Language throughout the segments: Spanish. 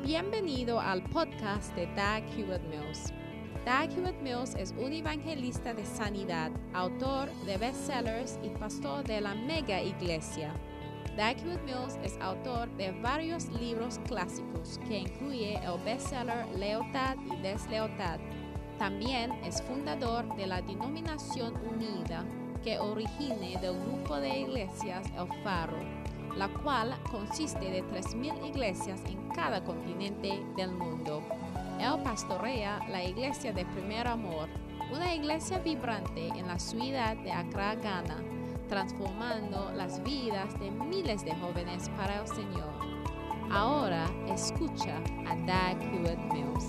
Bienvenido al podcast de Dag Hewlett-Mills. Dag Hewlett-Mills es un evangelista de sanidad, autor de bestsellers y pastor de la mega iglesia. Dag Hewlett-Mills es autor de varios libros clásicos que incluye el bestseller Lealtad y Deslealtad. También es fundador de la Denominación Unida, que origina del grupo de iglesias El Faro, la cual consiste de 3,000 iglesias en cada continente del mundo. Él pastorea la iglesia de Primer Amor, una iglesia vibrante en la ciudad de Accra, Ghana, transformando las vidas de miles de jóvenes para el Señor. Ahora escucha a Dag Hewlett-Mills.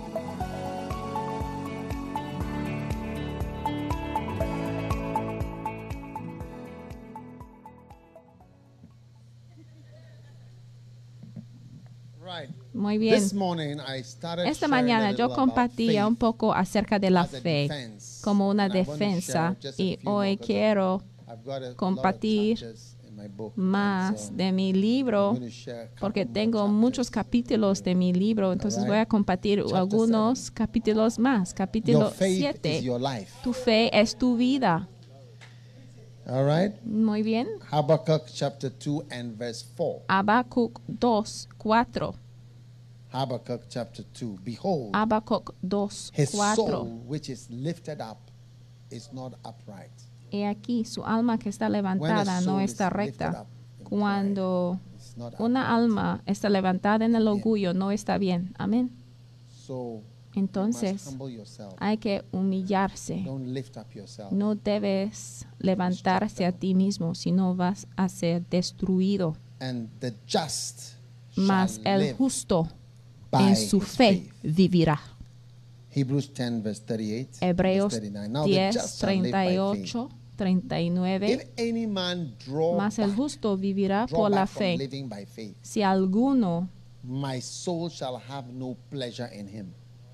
Muy bien. Esta mañana yo compartía un poco acerca de la fe como una defensa y hoy quiero compartir más de mi libro porque tengo muchos capítulos de mi libro, entonces voy a compartir algunos capítulos más. Capítulo 7. Tu fe es tu vida. All right. Muy bien. Habakkuk chapter 2 and verse 4. Habacuc 2, 4. Habakkuk chapter 2. Behold, Habacuc 2, his 4. soul which is lifted up is not upright. He aquí, su alma que está levantada no está recta. Cuando una alma está levantada en el orgullo, no está bien. Amén. So Entonces, you must humble yourself. hay que humillarse. Don't lift up yourself. No debes levantarse a ti mismo, sino vas a ser destruido. And the just Mas shall el live justo by en su his fe faith. vivirá. Hebrews 10 verse 38. Hebreos verse 39. Now the 10, just shall live by faith. 38, 39. If any man draw Mas el back, justo vivirá draw por la back from fe. living by faith, Si alguno my soul shall have no pleasure in him.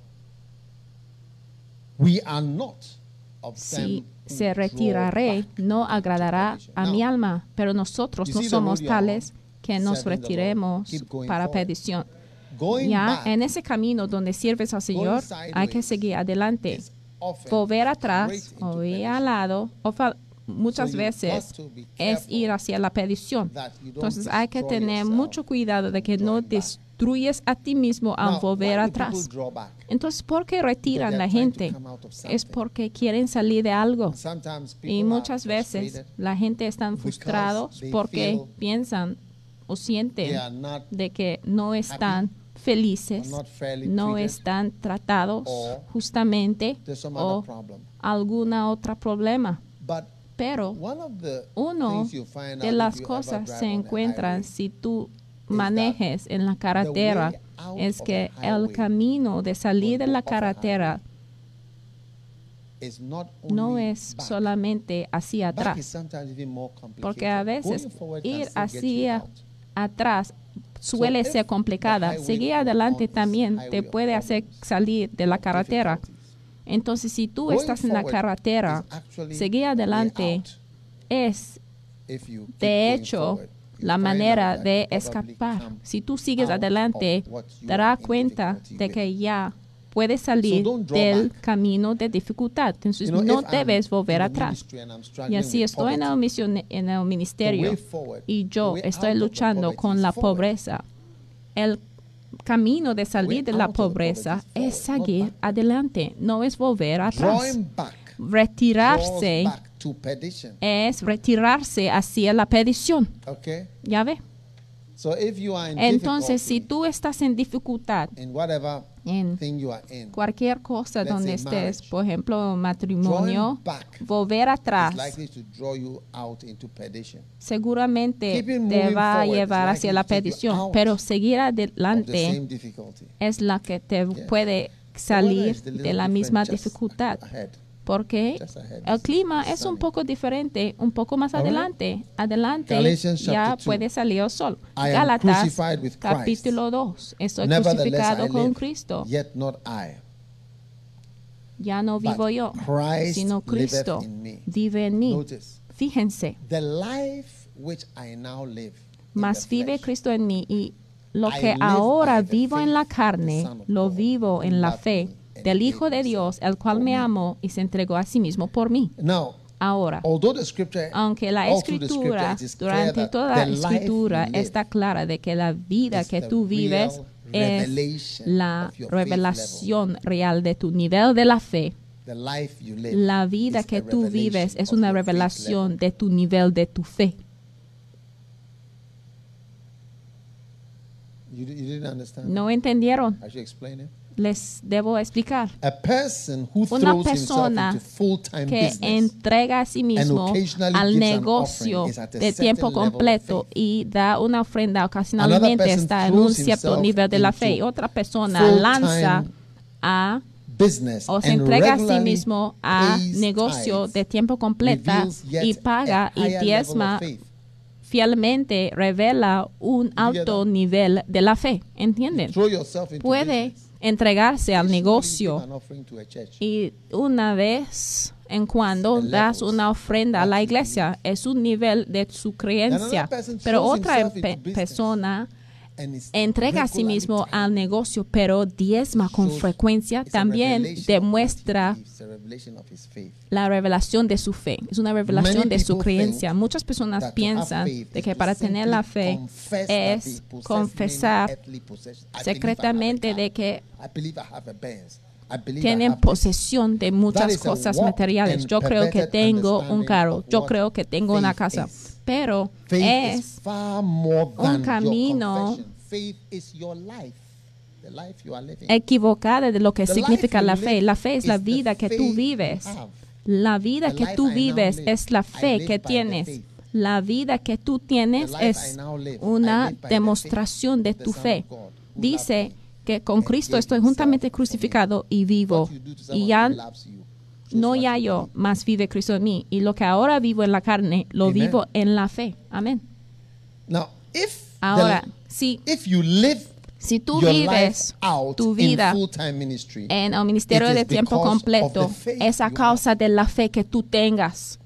We are not of si them who se draw retiraré, back no agradará into a mi perdition. alma, pero nosotros You no see the somos road you are tales que nos serving the Lord. retiremos Keep going para forward. perdición. Going Ya back en ese camino donde sirves al Señor, hay que sideways seguir adelante. is often Volver atrás straight into o ir perdition. al lado, muchas So you've veces got to be es careful ir hacia la perdición. that you don't Entonces hay que destroy tener yourself mucho cuidado de que no drawing back. destruyes a ti mismo al Now, volver why do atrás. people draw back? Entonces, ¿por qué Because retiran they la are trying to gente? come out of Es something. porque quieren salir de algo. Sometimes people Y are muchas veces frustrated la gente está because frustrados they porque feel piensan o they sienten are not de que no están felices, or not fairly no treated, están tratados or justamente there's some o other problem. alguna otra problema. But Pero one of the uno things you find de out las if you cosas ever drive se on a encuentran highway si tú that manejes en la carretera way out es of que a el highway camino de salir de la off a highway carretera is not no only es back. solamente hacia Back is atrás, sometimes even more complicated. porque a veces Going forward can ir still get you hacia out. atrás suele if ser complicada. the highway Seguir you're adelante on is también highway te of puede hacer problems, salir de la carretera. difficulties, Entonces, si tú going estás en la forward carretera, is actually seguir the way adelante out. es If you keep de going hecho forward, you la find manera out that de you probably escapar. come Si tú sigues out adelante, of what you te are darás in cuenta difficulty de with. que ya puedes salir So don't draw del back. camino de dificultad. Entonces, You know, no if I'm debes in volver the atrás. ministry and I'm Y struggling así with estoy en poverty, en el the ministerio way forward, y the yo way estoy out of the luchando poverty con is la forward. pobreza. El camino de salir de la out of the pobreza poverty is es forward, not seguir backward. adelante, no es volver atrás. Drawing back Retirarse draws back to perdition. es retirarse hacia la perdición. Okay? ¿Ya ve? So if you are in Entonces, si difficulty tú estás en dificultad in whatever en thing you are in, cualquier cosa Let's donde say estés, marriage. por ejemplo, matrimonio, drawing back volver atrás is likely to draw you out into perdition. seguramente Keeping te moving va a forward llevar is hacia likely la to take you perdición, out pero seguir Of the adelante same difficulty. es la que te Yes. puede The salir weather is a de little la different misma just dificultad, ahead. porque Just ahead. el clima It's es un sunny. poco diferente, un poco más All right. adelante. Adelante Galatians ya chapter 2. puede salir el sol. I am Gálatas crucified with Christ. capítulo 2. Estoy Nevertheless, crucificado I con live, Cristo. yet not I, Ya no but vivo yo, Christ sino liveth Cristo in me. vive en mí. Notice, Fíjense, the life which I now live in mas the vive flesh, Cristo en mí y lo I que live ahora by the vivo en la faith of carne, the Son of lo God, vivo who en la loved fe me and del gave Hijo de himself Dios, el cual for me me. amó y se entregó a sí mismo por mí. Now, Ahora, although the scripture, aunque la all through the scripture, escritura, it is clear durante that toda the la life escritura you live está clara de que la vida is que the tú vives real es revelation la of your faith revelación real de tu nivel de la fe. The life you live La vida is que a tú vives revelation es of una your faith revelación level. de tu nivel de tu fe. You didn't understand? ¿No entendieron? I should explain it. Les debo explicar. A person who Una throws himself persona into full-time que business entrega a sí mismo occasionally al gives an negocio offering is at a de certain tiempo level of completo faith. y da una ofrenda Another ocasionalmente person está en un throws cierto himself nivel de la fe. into Y otra persona full-time lanza a business o se and entrega a sí regularly mismo a pays negocio tithes, de tiempo completa reveals yet y paga a y higher level of diezma faith. fielmente, revela un alto nivel de la fe. ¿Entienden? Throw yourself into Puede business. entregarse al Occasionally negocio give an offering to a church. y una vez en cuando das una ofrenda a la iglesia. Es un nivel de su creencia. Pero otra persona And is entrega a sí regularly mismo tithing. al negocio, pero diezma con Shows frecuencia, it's a también revelation of demuestra what he believes, a revelation of his faith. la revelación de su fe. Es una revelación Many de su people creencia. think Muchas personas that to piensan have faith de is que to para tener la fe simply confess that es they possess confesar many earthly possessions. I believe I have a secretamente car. de que I believe I have a Benz. I believe I tienen have this. posesión de That muchas is a cosas warped materiales. and Yo creo que perverted tengo un understanding carro. of Yo what creo que tengo una faith casa. is. Pero Faith es is far more than un camino your confession. Faith is your life, the life you are living. equivocada de lo que The significa life la you fe. live La fe es la is the vida que tú faith vives. you have. La vida The que life tú I now vives live, es la I fe live que by the tienes. faith. La vida que tú tienes The life I es now live, I una live by the demostración de faith of tu the Son fe. of God, who Dice loved me que con and Cristo gave estoy himself juntamente for me. crucificado y vivo. What you do to Y someone ya who loves you shows no what ya you yo, believe. más vive Cristo en mí. Y lo que ahora vivo en la carne, lo Amen. vivo en la fe. Amén. Now, if Ahora, if you live si tú your vives life out tu in vida full-time ministry, en el ministerio it is de tiempo because of completo, the faith es a you causa de la fe que tú tengas.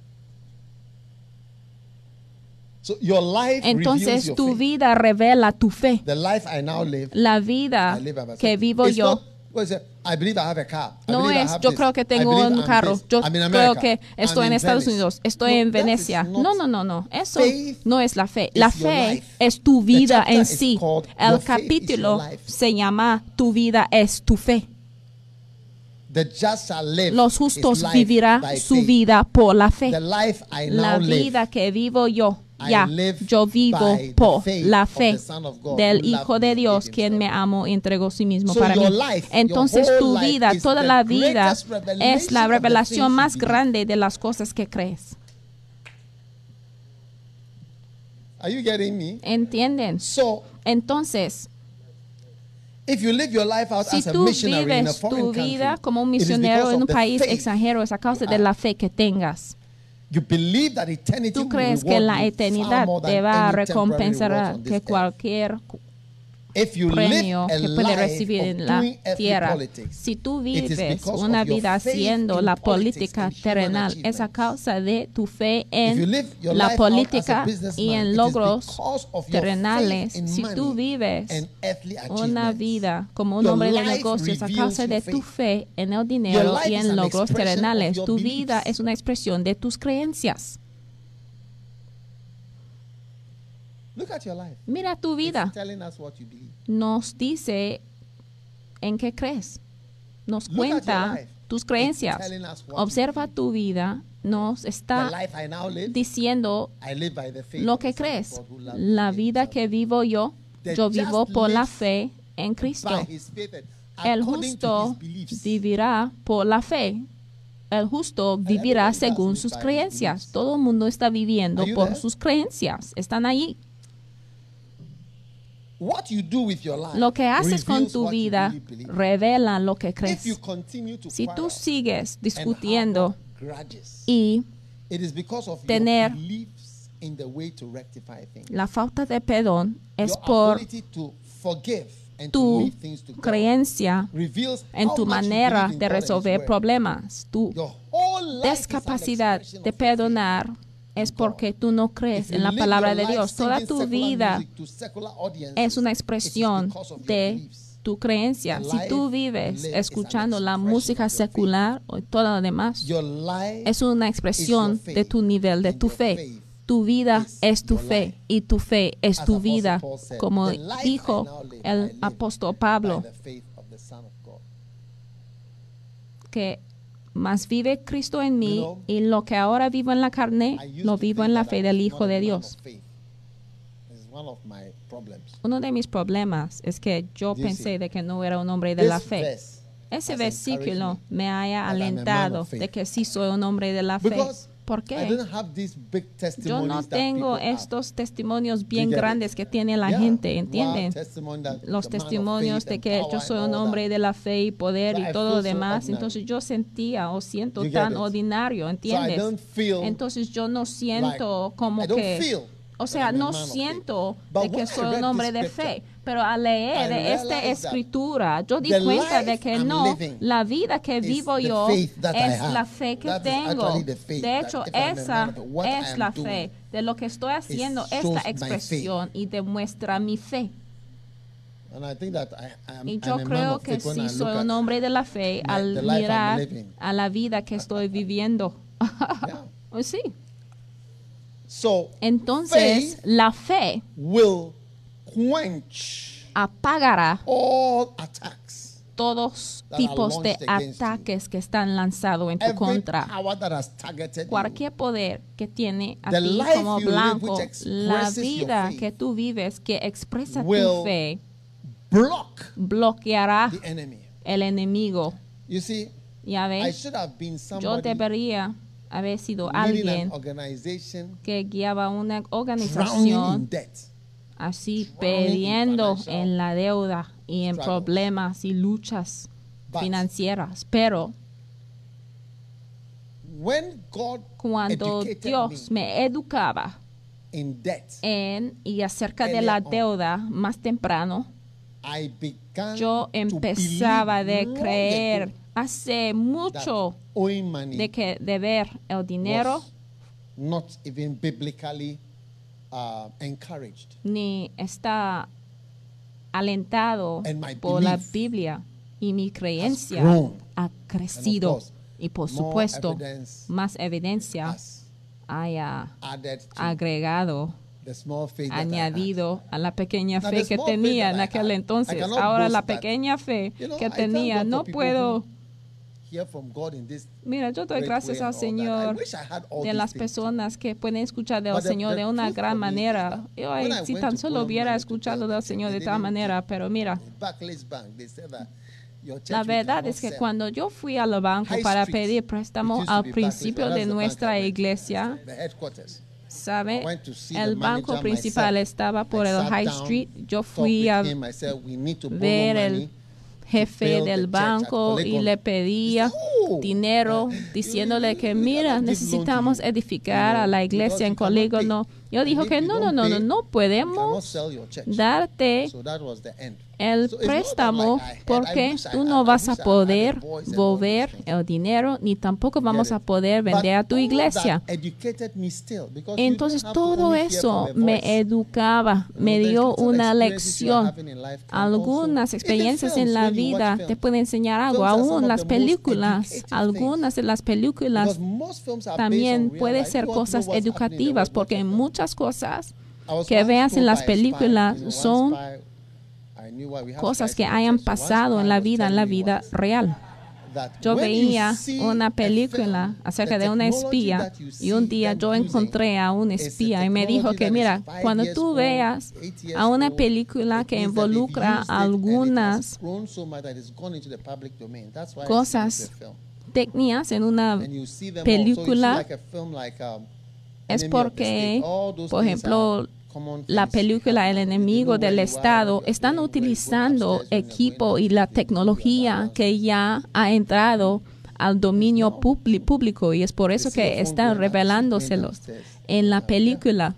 so your life reveals Entonces your tu faith. vida revela tu fe. The life I now live, La vida I live by myself. que vivo It's yo not, what is it? I believe I have a car. I no believe I es have yo this. creo que I tengo believe un I'm carro, this. yo I'm in creo America. que estoy I'm en in Estados Venice. Unidos, estoy No, en that is Venecia. not- No. Eso Faith no es la fe. is La your fe life. es tu The vida chapter en is sí. called El Your Faith is capítulo Your Life. se llama Tu vida es tu fe. The just shall live Los his justos life vivirán by su faith. vida por la fe. The life I La now live, vida que vivo yo, I ya, live yo vivo by the por faith la of fe the Son of God del who Hijo loved de me and Dios, gave quien me himself. amó y entregó sí mismo So para your mí. life, Entonces your tu whole life vida, is toda the la vida greatest es revelation la of the revelación things más you believe. grande de las cosas que crees. Are you getting me? ¿Entienden? So, Entonces, if you live your life out si as a tú missionary in a vives foreign tu vida country, como un it is misionero because en of un the país faith extranjero, es a causa you de la have. fe que tengas. You believe that eternity Tú will crees que reward la you eternidad far more than te va a any temporary recompensar rewards on this que earth. cualquier If you premio live a que puede life recibir of en la doing earthly tierra. politics, Si tú it is vives because una of your vida faith haciendo in la politics política and human terrenal, es a achievements. causa de tu fe If you en live your la life out as a política businessman, y en it is logros because of your terrenales. faith in Si tú money vives and earthly una achievements. vida como un Your hombre de life negocios a reveals causa de your tu faith. fe en el dinero Your life y is en an logros expression of terrenales. your Tu vida beliefs. es una expresión de tus creencias. Look at your life. Mira tu vida. It's telling us what you believe. Nos dice en qué crees. Nos Look at your cuenta life. tus It's creencias. telling us what Observa you tu vida. Nos The está life I now live, diciendo I live by the faith lo of the que Son of crees. God who loved La me vida and que vivo yo, The yo just vivo por la lives fe en Cristo. by his faith and El according to justo his beliefs. vivirá por la fe. El justo vivirá everybody según does sus by his creencias. beliefs. Todo el mundo está viviendo Are you por there? sus creencias. Están allí. What you do with your life Lo que haces con reveals tu what you vida really believe. revela lo que If crees. you continue to Si tú quarrel sigues and discutiendo harbor grudges, y it is because of tener your beliefs in the way to rectify things. la falta de perdón es Your por ability to forgive and to tu leave things to God creencia reveals en how tu much you manera believe in de God and His resolver word. problemas. Tu Your whole life is an descapacidad expression de of your faith. perdonar es porque tú no crees en la palabra de Dios. Toda tu vida es una expresión de tu creencia. Si tú vives escuchando la música secular o todo lo demás, es una expresión de tu nivel, de tu fe. Tu vida es tu fe y tu fe es tu vida, como dijo el apóstol Pablo, que más vive Cristo en mí y lo que ahora vivo en la carne, lo vivo en la fe del Hijo de Dios. Uno de mis problemas es que yo pensé de que no era un hombre de la fe. Ese versículo me haya alentado de que sí soy un hombre de la fe. ¿Por qué? Yo no tengo estos testimonios bien grandes que tiene la gente, ¿entienden? Los testimonios de que yo soy un hombre de la fe y poder y todo lo demás. Entonces yo sentía o siento tan ordinario, ¿entiendes? Entonces yo no siento como que... O sea, no siento de que soy un hombre de fe, pero al leer de esta escritura, yo di cuenta de que no, la vida que vivo yo es la fe que tengo. De hecho, esa es la fe. De lo que estoy haciendo, esta expresión y demuestra mi fe. Y yo creo que sí soy un hombre de la fe al mirar a la vida que estoy viviendo. Sí. Entonces, la fe apagará todos tipos de ataques que están lanzados en tu contra. Cualquier poder que tiene a ti como blanco, la vida que tú vives que expresa tu fe, bloqueará el enemigo. Ya ves, yo debería haber sido alguien que guiaba una organización así perdiendo en la deuda y en problemas y luchas financieras. Pero cuando Dios me educaba y acerca de la deuda más temprano, yo empezaba a creer hace mucho de que deber el dinero ni está alentado por la Biblia, y mi creencia ha crecido y por supuesto más evidencia haya agregado, añadido a la pequeña fe que tenía en aquel entonces. Ahora la pequeña fe que tenía no puedo... Mira, yo doy gracias al Señor de las personas que pueden escuchar del Señor de una gran manera. Yo, si tan solo hubiera escuchado del Señor de tal manera, pero mira, la verdad es que cuando yo fui al banco para pedir préstamo al principio de nuestra iglesia, ¿sabe? El banco principal estaba por el High Street. Yo fui a ver el jefe del banco y le pedía dinero diciéndole que mira, necesitamos edificar a la iglesia en Polígono. Yo dijo que no podemos darte el préstamo porque tú no vas a poder volver el dinero ni tampoco vamos a poder vender a tu iglesia. Entonces todo eso me educaba, me dio una lección. Algunas experiencias en la vida te pueden enseñar algo, aún las películas, algunas de las películas también pueden ser cosas educativas porque muchas cosas que veas en las películas son cosas que hayan pasado en la vida real. Yo veía una película acerca de una espía y un día yo encontré a un espía y me dijo que mira, cuando tú veas a una película que involucra algunas cosas técnicas en una película, es porque, por ejemplo, la película El enemigo del Estado están utilizando equipo y la tecnología que ya ha entrado al dominio público y es por eso que están revelándoselos en la película.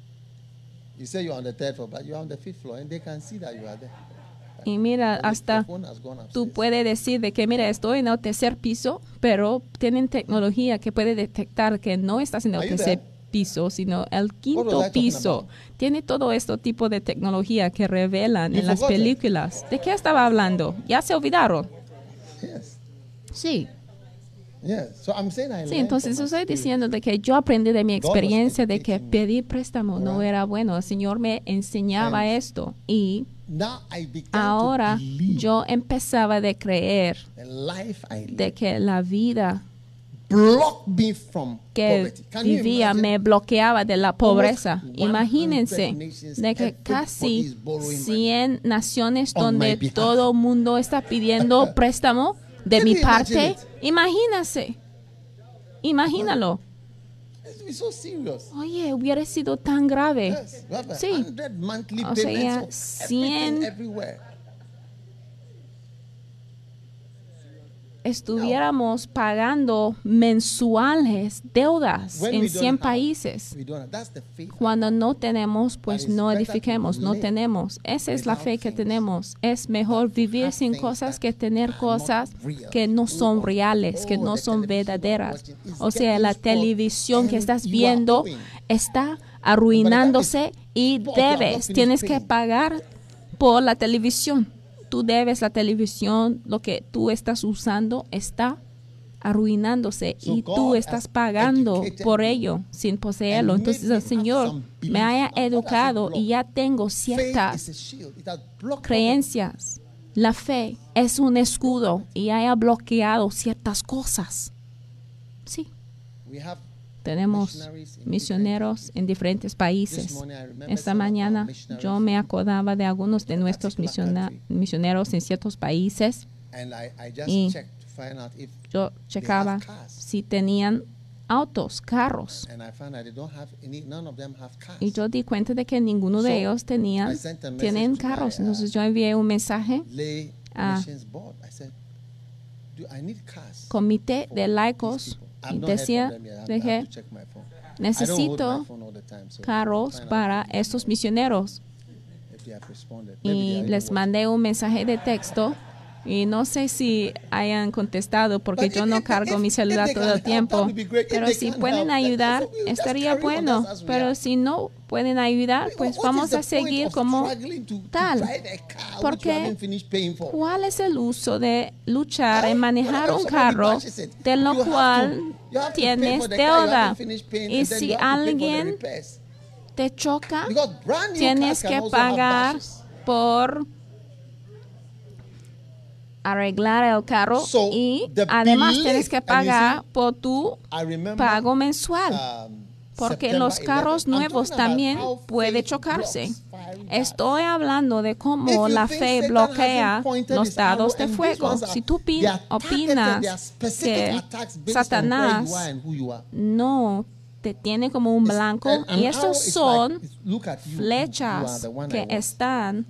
Y mira, hasta tú puedes decir de que mira, estoy en el tercer piso, pero tienen tecnología que puede detectar que no estás en el tercer piso, sino el was quinto I talking piso. about? Tiene todo este tipo de tecnología que revelan You en las forgot it. películas. ¿De qué estaba hablando? ¿Ya se olvidaron? Yes. Sí. Yes. So I'm saying I Sí, learned entonces from my estoy experience. diciendo de que yo aprendí de mi God was experiencia de que educating me. pedir préstamo no Alright. era bueno. El Señor me enseñaba And esto y Now I began ahora to believe yo empezaba de creer the life I de lived que la vida blocked me from que poverty. Can you vivía imagine? me bloqueaba de la pobreza. Almost 100 Imagínense nations, de que everybody casi is borrowing 100 naciones on my donde behalf. todo el mundo está pidiendo préstamo de Can mi you imagine parte. it? Imagínase. Imagínalo. It's been so serious. Oye, hubiera sido tan grave. Yes, we have Sí. 100 monthly O sea, payments of 100 everything everywhere. Estuviéramos pagando mensuales deudas When en we 100 don't have, países. we don't have. That's the faith. Cuando no tenemos, pues But it's no better edifiquemos, to no live tenemos. Esa es la without fe que things tenemos. Es mejor vivir have sin things cosas that que tener are not cosas real. que no son Oh, reales, que oh, no the son television verdaderas. you're watching is O sea, getting la spoiled televisión que and estás you are viendo owing. está arruinándose y spoiled, you have not debes, finished tienes que paying. pagar por la televisión. Tú debes la televisión, lo que tú estás usando está arruinándose So y God tú has estás pagando educated por me ello sin poseerlo. and Entonces made me el have Señor some me beliefs. haya Now, what does it educado block? y ya tengo Faith is ciertas a shield. It has blocked creencias. La fe es un escudo y haya bloqueado ciertas cosas. Sí, poverty. We have tenemos missionaries in misioneros en diferentes This países. morning I remember Esta some of our mañana missionaries yo me acordaba de algunos de in a nuestros particular country. misioneros en ciertos países. and I just Y checked to find out if Yo checaba cars. si tenían autos, carros. and I found out they don't have any, none of them have cars. Y yo di cuenta de que ninguno de So, ellos I sent a message tienen to carros. my, Entonces yo envié un mensaje Lay Ah. Missions Board. I said, I need cars. comité for de these laicos people." y I've not heard decía from them yet. I de have que to check my phone. I don't hold necesito my phone all the time, so carros find out para estos misioneros. if they have responded. Maybe they Y are les even mandé un mensaje de texto y no sé si hayan contestado porque But yo no cargo mi celular they todo can el help, tiempo. that would be great. If Pero they si can't pueden help, then ayudar, we'll just estaría carry on bueno. as we Pero are. si no pueden ayudar, pues What vamos is the a seguir point of como struggling to tal. drive a car which Porque you haven't finished paying for? ¿cuál es el uso de luchar en What manejar if un somebody carro bashes it? de lo You have cual you have to pay tienes for the car, you deuda? haven't finished paying, Y and then si you have to pay for the alguien repairs. te choca, Because brand new tienes cars can que also have pagar bashes. por arreglar el carro So, y the además belief, tienes que and you pagar see, por tu I remember, pago mensual. Porque September los carros 11. I'm nuevos talking about también how puede faith chocarse. blocks fiery darts. Estoy hablando de If cómo you la think fe Satan bloquea hasn't pointed los his arrow, dados de and these fuego. ones are- Si tú they are targeted, they are opinas specific que attacks based on where you are Satanás and who you are. no te tiene como un blanco And y an estos arrow is son like, look at you, you are flechas the one I que want. están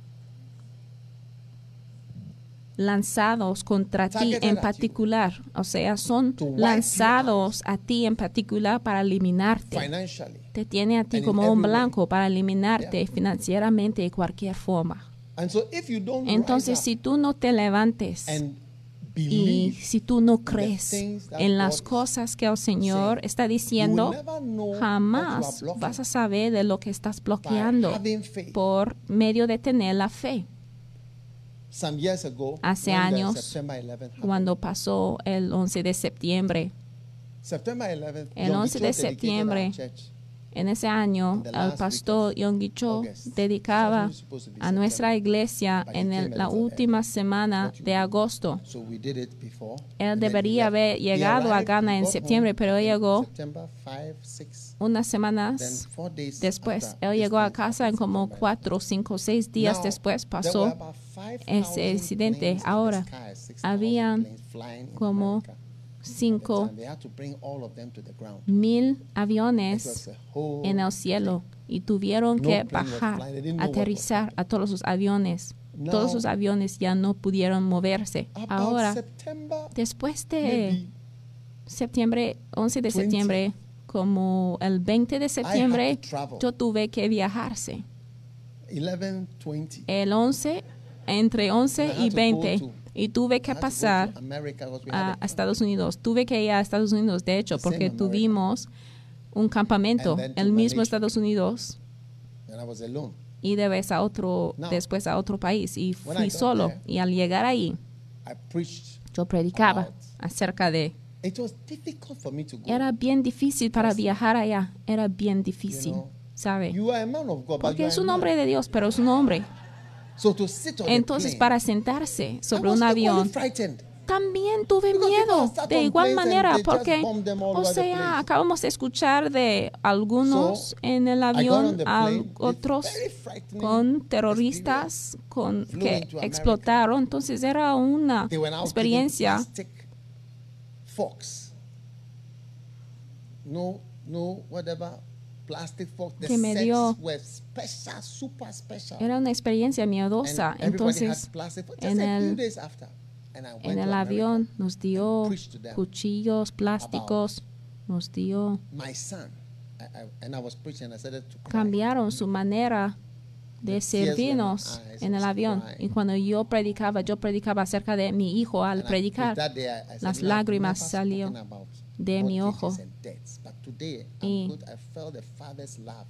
lanzados contra ti Targeted en at you. particular, o sea, son To wipe you lanzados a ti en particular para eliminarte. Financially. Te tiene a ti And in como un every way. blanco para eliminarte Yeah. financieramente de cualquier forma. And so if you don't Entonces, rise si tú no te levantes up and y believe, si tú no crees things that en God las is cosas que el Señor saying, está you will diciendo, never know what you are jamás blocking vas a saber de lo que estás by bloqueando having faith. por medio de tener la fe. Some years ago, Hace when the años, September 11th happened, Cuando pasó el 11 de septiembre, September 11th, el John 11 de Gichon dedicated septiembre, our church. en ese año, In the el last pastor week of Yonggi Cho August. dedicaba It's supposed to be a nuestra September, iglesia but he en came a la little última early. semana What you de do. agosto. So we did it before. Él and then he debería left. haber He llegado a arrived, Ghana he en got septiembre, home pero él in llegó September 5, 6, unas then semanas 4 days después. after Él this llegó a thing casa en happened, como September 4, 5, 6 días Now, después there were pasó about 5,000 ese incidente. planes in the Ahora, sky, 6,000 habían planes flying in como America. 5,000 And they had to bring all of them to the ground. aviones It was a whole en el cielo y tuvieron No que plane was bajar, flying. They didn't know what was aterrizar a todos los aviones. Now, Todos los aviones ya no pudieron moverse. About Ahora, September, después de maybe septiembre, 11 de 20. septiembre, como el 20 de septiembre, to travel. yo tuve que viajarse. 11, 20. El 11, entre 11 I had y to 20, go to- y tuve que I had to go pasar to America because we a had a Estados Unidos. Tuve que ir a Estados Unidos, de hecho, The same porque America. tuvimos un campamento And then to en el mismo Malaysia. Estados Unidos And I was alone. y después a otro país. Y When I fui got solo. there, Y al llegar ahí, I preached. yo predicaba about- acerca de... It was difficult for me to go. Era bien difícil para viajar allá. Era bien difícil, You know, ¿sabe? You are a man of God, but you Porque are es a un man. hombre de Dios, pero es un hombre. So to sit on the Entonces, plane, para sentarse sobre I was un equally avión, frightened. también tuve Because miedo people start de on igual planes and manera, they just porque, bomb them all o over the sea, place. acabamos de escuchar de algunos So, en el I got on avión, the plane with otros very frightening con terroristas Flew que into America. explotaron. Entonces, era una They were now experiencia. giving plastic forks. No, whatever. Plastic forks. The Que me sets dio- were special, super special. Era una experiencia And miedosa. everybody Entonces, had plastic forks. en Just a few el- days after. And I went en to el America avión nos dio and preached to them cuchillos plásticos, nos dio, my son. And I was preaching and I said to cry. cambiaron su manera de The tears were in my servirnos eyes, en I el was avión. crying. Y cuando yo predicaba acerca de mi hijo al And predicar, that day I said, las "You know, I've lágrimas never salió spoken about de mi mortgages ojo. and debts, but today Y I'm good. I felt the Father's love.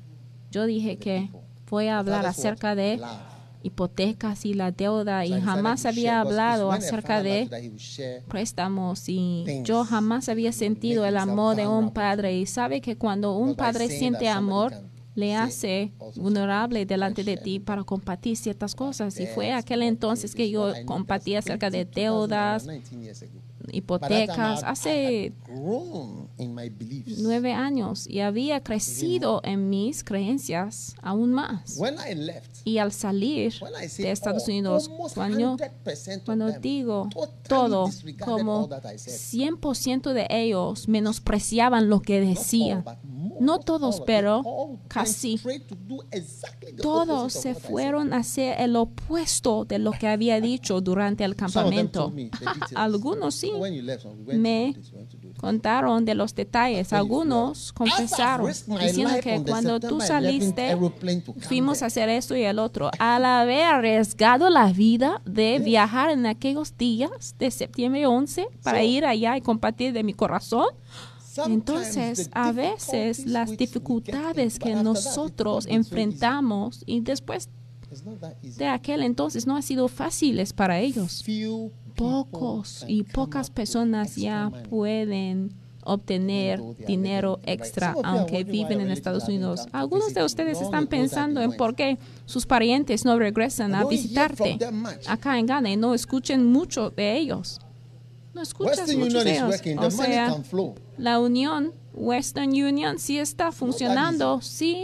yo dije que voy a hablar Father's acerca what? de Love. hipotecas y la deuda So y I decided jamás to había share, because hablado it's when a acerca father loves de you that he will share. préstamos y things yo jamás había sentido el amor de un padre. Y sabe que cuando un Because by padre saying siente that somebody amor, can le say hace also vulnerable delante de share ti para compartir ciertas cosas. Y fue Yes, aquel entonces que yo compartí acerca de deudas, 19 years ago. By that time, hipotecas, I hace had grown in my beliefs. 9 años y había crecido en mis creencias aún más. When I left, Y al salir when I say de Estados all, Unidos, almost cuando 100% of cuando them digo totally todo, disregarded como all that I said. 100% de ellos menospreciaban lo que decía. Not all, but more No of todos, all, pero they all went casi straight to do exactly the todos opposite of se what I said. fueron a hacer el opuesto de lo que había dicho durante el Some of them campamento. told me the details. Algunos sí When you left, we went me to do this, we went to do this. contaron de los detalles. tell you, Algunos I've confesaron risked my diciendo life que on the cuando tú September 11th saliste aeroplane to come fuimos there. a hacer esto y el otro. Al haber arriesgado la vida de viajar en aquellos días de septiembre 11 para So, ir allá y compartir de mi corazón, Sometimes entonces the a veces difficulties las which we get dificultades into, que but after that, nosotros it's not been so easy. enfrentamos y después It's not that easy. de aquel entonces no ha sido fáciles para ellos. Few Pocos people y can come pocas up with personas extra ya money. pueden obtener Even though they are dinero living right. extra Some of you are aunque wondering why viven your en relatives Estados haven't Unidos. come to Algunos visit de you ustedes long están ago that pensando they en went. por qué sus parientes no regresan I a don't hear visitarte from them much. acá en Ghana y no escuchen mucho de ellos. No escuchas Western mucho Union de is ellos. working. O The money sea, can flow. la unión, Western Union, sí está funcionando, sí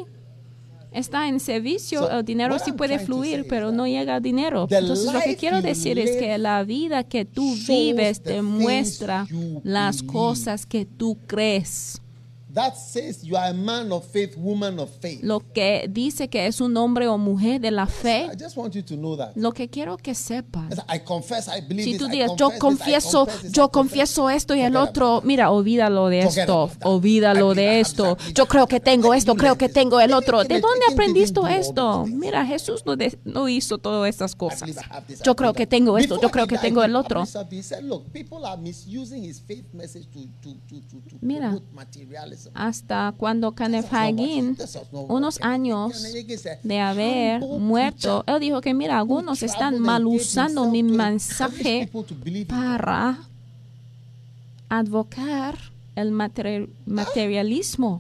está en servicio, So, el dinero what sí I'm puede trying to say fluir, is pero that no llega el dinero. the Entonces lo que life quiero you decir es que live la vida que tú shows vives the demuestra things you las believe. cosas que tú crees. That says you are a man of faith, woman of faith. Lo que dice que es un hombre o mujer de la fe, I just want you to know that. lo que quiero que sepas. I confess, I believe Si this, tú I dices, confess yo this, I confieso, confess this, I yo confess confieso esto y el Forget otro, about that. mira, olvídalo de Forget esto, about that. olvídalo I de believe esto. that. Yo creo que tengo I esto, do creo like que this. tengo el Maybe otro. ¿De Timothy dónde didn't aprendiste do all those esto? things. Mira, Jesús no hizo todas estas I cosas. believe I have this, I Yo creo believe que that. tengo esto, yo Before creo he que died, tengo el he otro. published something. He said, look, people are misusing his faith message to Mira, promote materialism. hasta cuando Kenneth That's not what- Hagin, that's not what unos Kenneth años Hagin said. de haber Humble muerto, preacher él dijo que mira, algunos who están traveled mal and gave usando himself mi to encourage mensaje people to believe in God. para advocar el materialismo.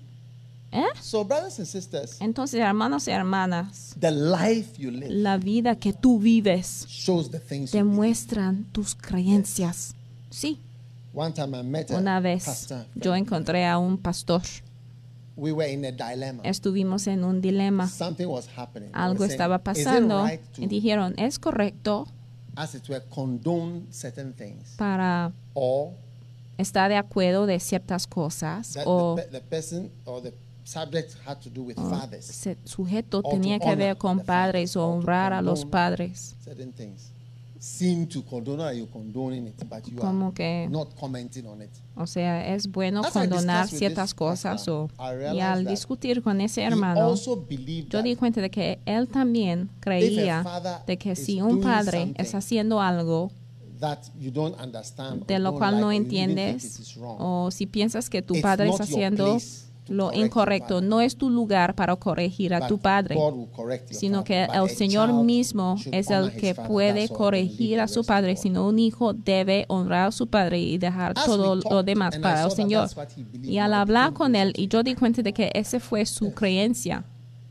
So, brothers and sisters, Entonces, hermanos y hermanas, the life you live la vida que tú vives shows the things you believe. demuestran tus creencias. Sí, One time I met una a vez pastor. yo encontré a un pastor. We were in a dilemma. Estuvimos en un dilema. Something was happening. I Algo was saying, estaba is it pasando right to, y dijeron, ¿es correcto as it were, condone certain things? para Or estar de acuerdo de ciertas cosas that o the person or the subject had to do with o fathers? ese sujeto to tenía que honor ver con the padres fathers, o or to honrar a los condone padres? Certain things seem to condone, or you condoning it, but you Como are que, not commenting on it. o sea, es bueno As I condonar discussed with ciertas this cosas pastor, I y realized al that discutir con ese He hermano, also believed yo that di cuenta de que él también if a creía father de que is si un doing padre something es haciendo algo that you don't understand, de or lo don't cual like, no or you even think entiendes, it is wrong, o si piensas que tu it's padre not está your haciendo place to lo correct your incorrecto, father. no es tu lugar para corregir a But tu padre, God will correct your sino father. que But el a Señor child mismo should es honor el his que father. puede That's all, and corregir leave a the su rest to padre, God. sino un hijo debe honrar a su padre y dejar As todo we lo talked, demás and I para saw el that Señor. that's what he believed, Y al I hablar became con él, closer y to yo di cuenta de que esa fue su creencia.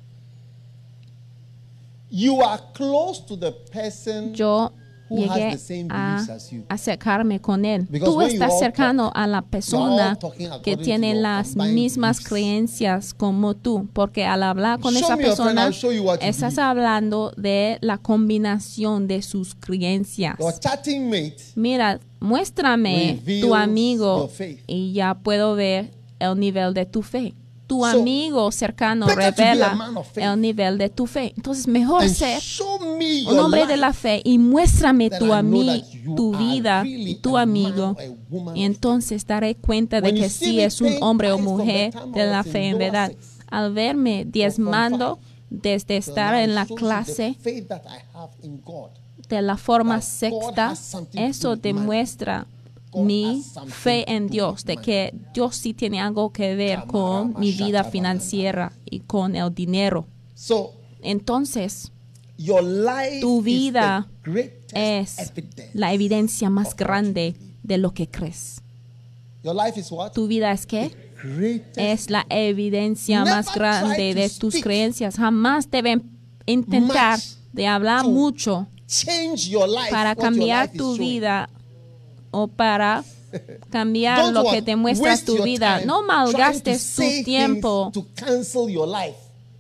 You are close to the person Yo who has llegué the same a beliefs as you. acercarme con él. Because Tú when you estás all cercano talk, a la persona talking que according to tiene your las combined mismas beliefs. creencias como tú, porque al hablar con Show esa me your friend, persona I'll show you what you estás believe. hablando de la combinación de sus creencias. Your chatting mate Mira, muéstrame reveals tu amigo your faith. y ya puedo ver el nivel de tu fe. Tu So, amigo cercano better to be a revela man of faith. el nivel de tu fe. Entonces, mejor and ser show me un your hombre life. de la fe y muéstrame Then tu, I know that you tu are vida really y tu a man amigo, or a woman y of entonces daré cuenta de When you que see sí me es un paying hombre o tithes from the mujer time I de la was in fe en lower verdad. six, Al verme diezmando desde estar en la clase faith that I have in God. de la forma That God sexta, has something to do eso with money. demuestra God mi has something fe to en do Dios, with de money. que Dios sí tiene algo que ver con mi vida financiera y con el dinero. So Entonces, your life tu vida is the greatest es evidence la evidencia of más what grande you believe. de lo que crees. Your life is what? ¿Tu vida es qué? Greatest. Es la evidencia Never más grande try to de tus speak creencias. Jamás deben intentar much de hablar to mucho Change your life. para what your cambiar life is tu showing. vida o para cambiar Don't lo what? que te muestra Waste tu your vida. time No trying to malgastes say tu tiempo things to cancel your life.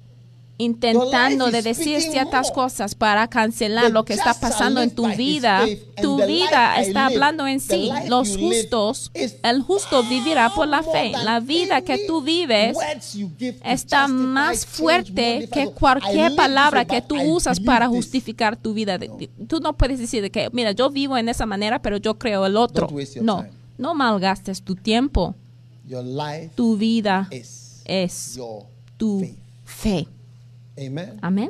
intentando Your de life is decir speaking ciertas more. cosas para cancelar The lo que está just shall pasando en live tu by his vida. faith, and Tu the vida life I está live, hablando en the sí. life Los you live justos, is el justo vivirá por la far fe. more La than vida que any tú vives words you give to está justify, más change, fuerte modify. que I cualquier live palabra this que way, tú but I usas believe para this. justificar tu vida. Tú no puedes decir de que, mira, yo vivo en esa manera, pero yo creo el otro. Don't waste your No, time. no malgastes tu tiempo. Your life Tu vida is es your tu faith. fe. Amen. Amén.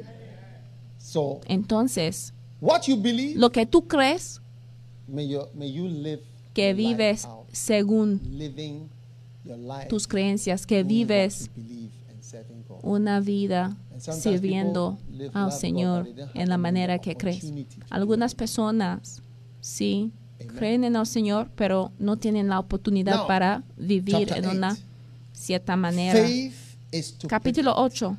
So Entonces, what you believe, lo que tú crees may you live que your life vives out, según living your life tus creencias, que doing what vives you believe and serving God. una vida And sometimes sirviendo people live al love Señor God, but they don't en la have manera the que crees. opportunity to do Algunas it. personas sí Amen. creen en el Señor, pero no tienen la oportunidad Now, para vivir chapter en una 8. cierta manera. Faith is to Capítulo 8.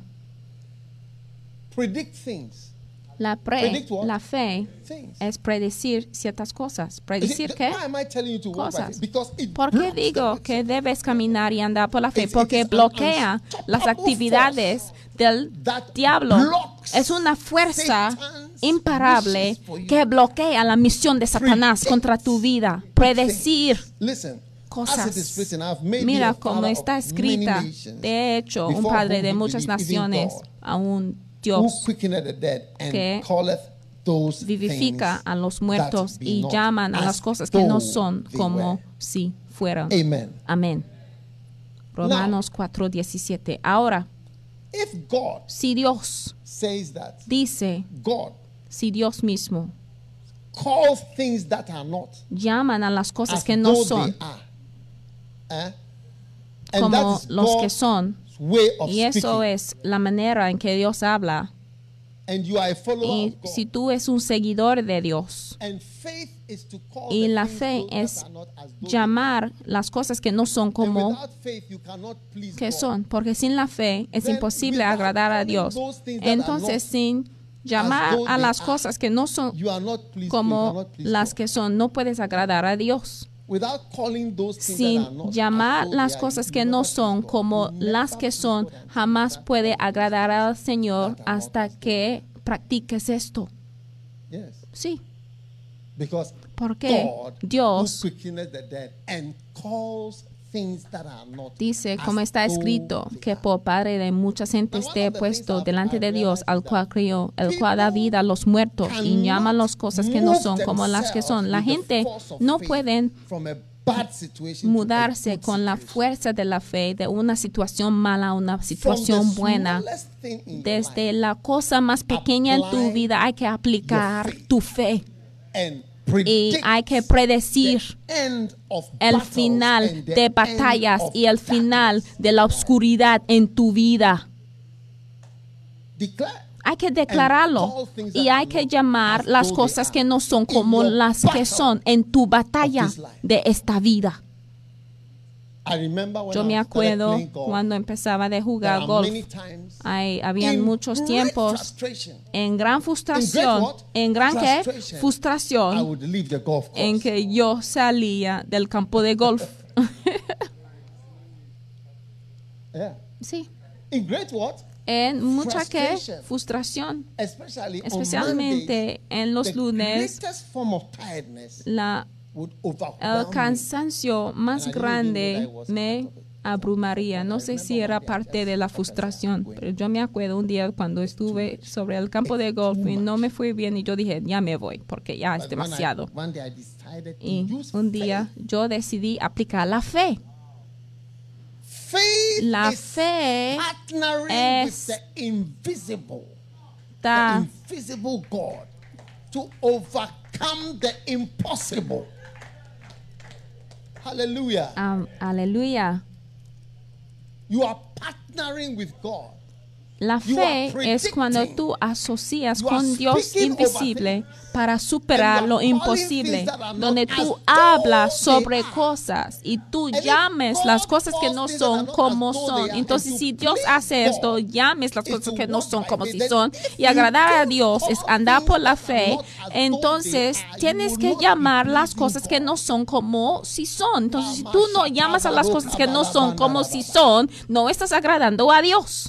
predict things. La Predict what? fe Things. es predecir ciertas cosas. ¿Predecir You see, qué? why am I telling you to walk by Cosas. faith? Because it ¿Por qué blocks the digo works que of debes caminar y andar por la fe? It Porque is an bloquea las unstoppable actividades del that diablo. blocks Es una fuerza Satan's imparable wishes for you. que bloquea la misión de Satanás Predict contra tu vida. Predecir Listen, cosas. as it is written, I've made thee Mira a como father está of escrita. many nations, De hecho, un before padre whom de he muchas believed, even naciones, God, a un who Dios quickeneth the dead and que calleth those vivifica things a los that muertos be y not llaman a as las cosas que no though son they como were. si fueran. Amen. Amén. Romanos 4:17. Ahora, If God si Dios says that, dice, God si Dios mismo calls things that are not llaman a las cosas as que no though son they are, and that como is los que God's son, way of y eso speaking, es la manera en que Dios habla. and you are a follower Y of God, si tú eres un seguidor de Dios, and faith is to call y the la things fe those that es are not as though llamar las cosas que no son they are. And como without faith you cannot please que God. son, porque sin la fe es Then, imposible without agradar a calling Dios. those things that are Entonces, not sin llamar though a they las are, cosas que no son You are not pleased, you como cannot please las God. que son, no puedes agradar a Dios. Without calling those things Sin that are not llamar as though las they are, cosas you que never no please son God. como You las never que please son, God until jamás you start puede calling those agradar things al Señor that are not hasta as though que practiques esto. Yes. Sí, Because porque God Dios who quickeneth the dead and calls things that are not dice, as como está though escrito, they que are. por Padre de muchas gentes te he puesto delante de Dios, al cual crió, crió, el cual da vida a los muertos y llama las cosas que no son como las que son. La gente no puede mudarse con la fuerza de la fe de una situación mala a una situación buena. Desde la cosa más pequeña en tu vida hay que aplicar tu fe y hay que predecir the end of el battles final and the de end batallas of y el final darkness. de la oscuridad en tu vida. Declare. Hay que declararlo y hay que llamar las cosas que no son como las que son en tu batalla de esta vida. I remember when Yo me I started acuerdo playing golf, cuando empezaba a there jugar are golf. many times Habían in muchos great tiempos frustration, en gran frustración, what? en gran ¿qué? Frustration. I Frustración, would leave the golf course. en que yo salía del campo de golf. Yeah. Sí, In great what? en mucha ¿qué? Frustration. Frustración, Especially on especialmente en los Mondays, lunes, the greatest form of tiredness el would overwhelm me. cansancio más And I didn't even know that grande it was me part of it. abrumaría. No sé si era parte de la frustración, pero yo me acuerdo un día cuando estuve sobre el campo de golf y no me fue bien y yo dije, ya me voy porque ya es But when demasiado. one day I decided to Y use un día yo decidí aplicar la fe. faith La is fe partnering es with the invisible God to overcome the impossible. Hallelujah. Aleluya. You are partnering with God. La fe es cuando tú asocias con Dios invisible para superar lo imposible, donde tú hablas sobre cosas y tú llames las cosas que no son como son. Entonces, si Dios hace esto, llames las cosas que no son como si son, y agradar a Dios es andar por la fe. Entonces, tienes que llamar las cosas que no son como si son. Entonces, si tú no llamas a las cosas que no son como si son, no estás agradando a Dios.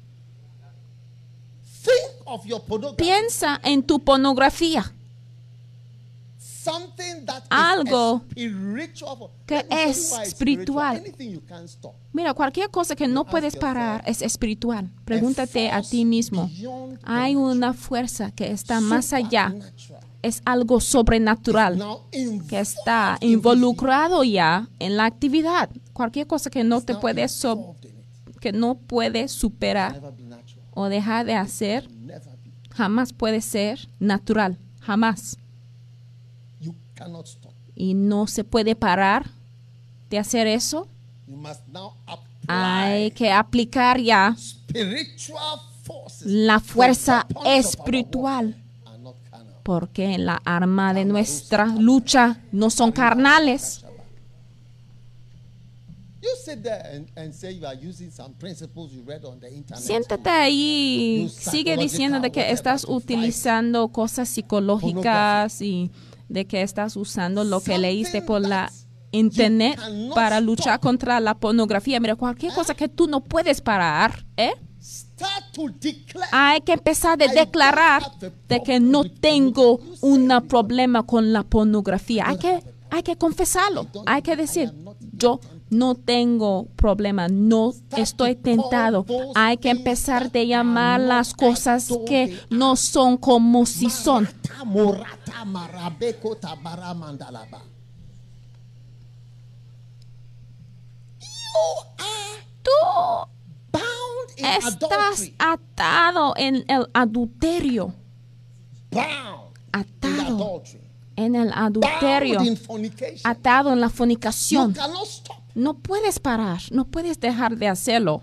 Think of your pornography. Piensa en tu pornografía, Something that is algo spiritual. que Let me tell you es why it's espiritual. Anything you can't stop. Mira, cualquier cosa que no puedes parar es espiritual. Pregúntate a ti mismo. Hay una fuerza que está más allá. Supernatural. Es algo sobrenatural Now que está involved in involucrado ya en la actividad. Cualquier cosa que no this, te now puedes involved in it. que no puedes superar Never be natural. o dejar de hacer, Never be. jamás puede ser natural. Jamás. You cannot stop. Y no se puede parar de hacer eso. You must now apply Hay que aplicar ya spiritual forces. la fuerza The weapons of our espiritual, warfare are not carnal. porque la arma de nuestra lucha no son carnales. You sit there and say you are using some principles you read on the internet. Siéntate ahí y sigue diciendo de que estás utilizando cosas psicológicas y de que estás usando lo que leíste por la internet para luchar contra la pornografía. Mira, cualquier cosa que tú no puedes parar, Start to declare. hay que empezar a declarar de que no tengo un problema con la pornografía. Hay que confesarlo. Hay que decir, yo no tengo problema, no estoy tentado. Hay que empezar a llamar las cosas que no son como si son. Morata, marabeko, tabara, mandalaba. You are Tú bound in estás adultery. atado en el adulterio. Bound in Atado adultery. en el adulterio. Bound in fornication. Atado en la You fornicación. cannot stop. No puedes parar, no puedes dejar de hacerlo.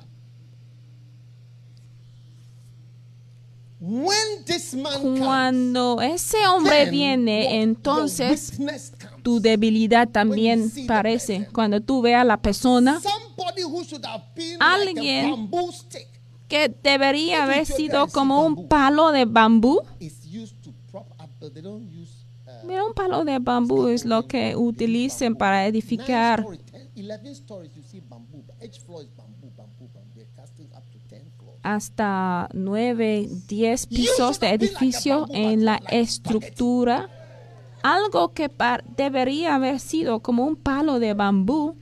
When this man comes, Cuando ese hombre then viene, your entonces weakness comes. tu debilidad también parece. Cuando tú veas a la persona Somebody who should have been Alguien like a bamboo stick que debería haber sido como un palo de bambú. is used to prop up. They don't use Mira, un palo de bambú es lo que utilicen para edificar. 11 stories you see bamboo. Each floor is bamboo, bamboo, bamboo. They're casting up to 10 floors. Hasta 9, 10 pisos de edificio en la estructura. Algo que debería haber sido como un palo de bambú.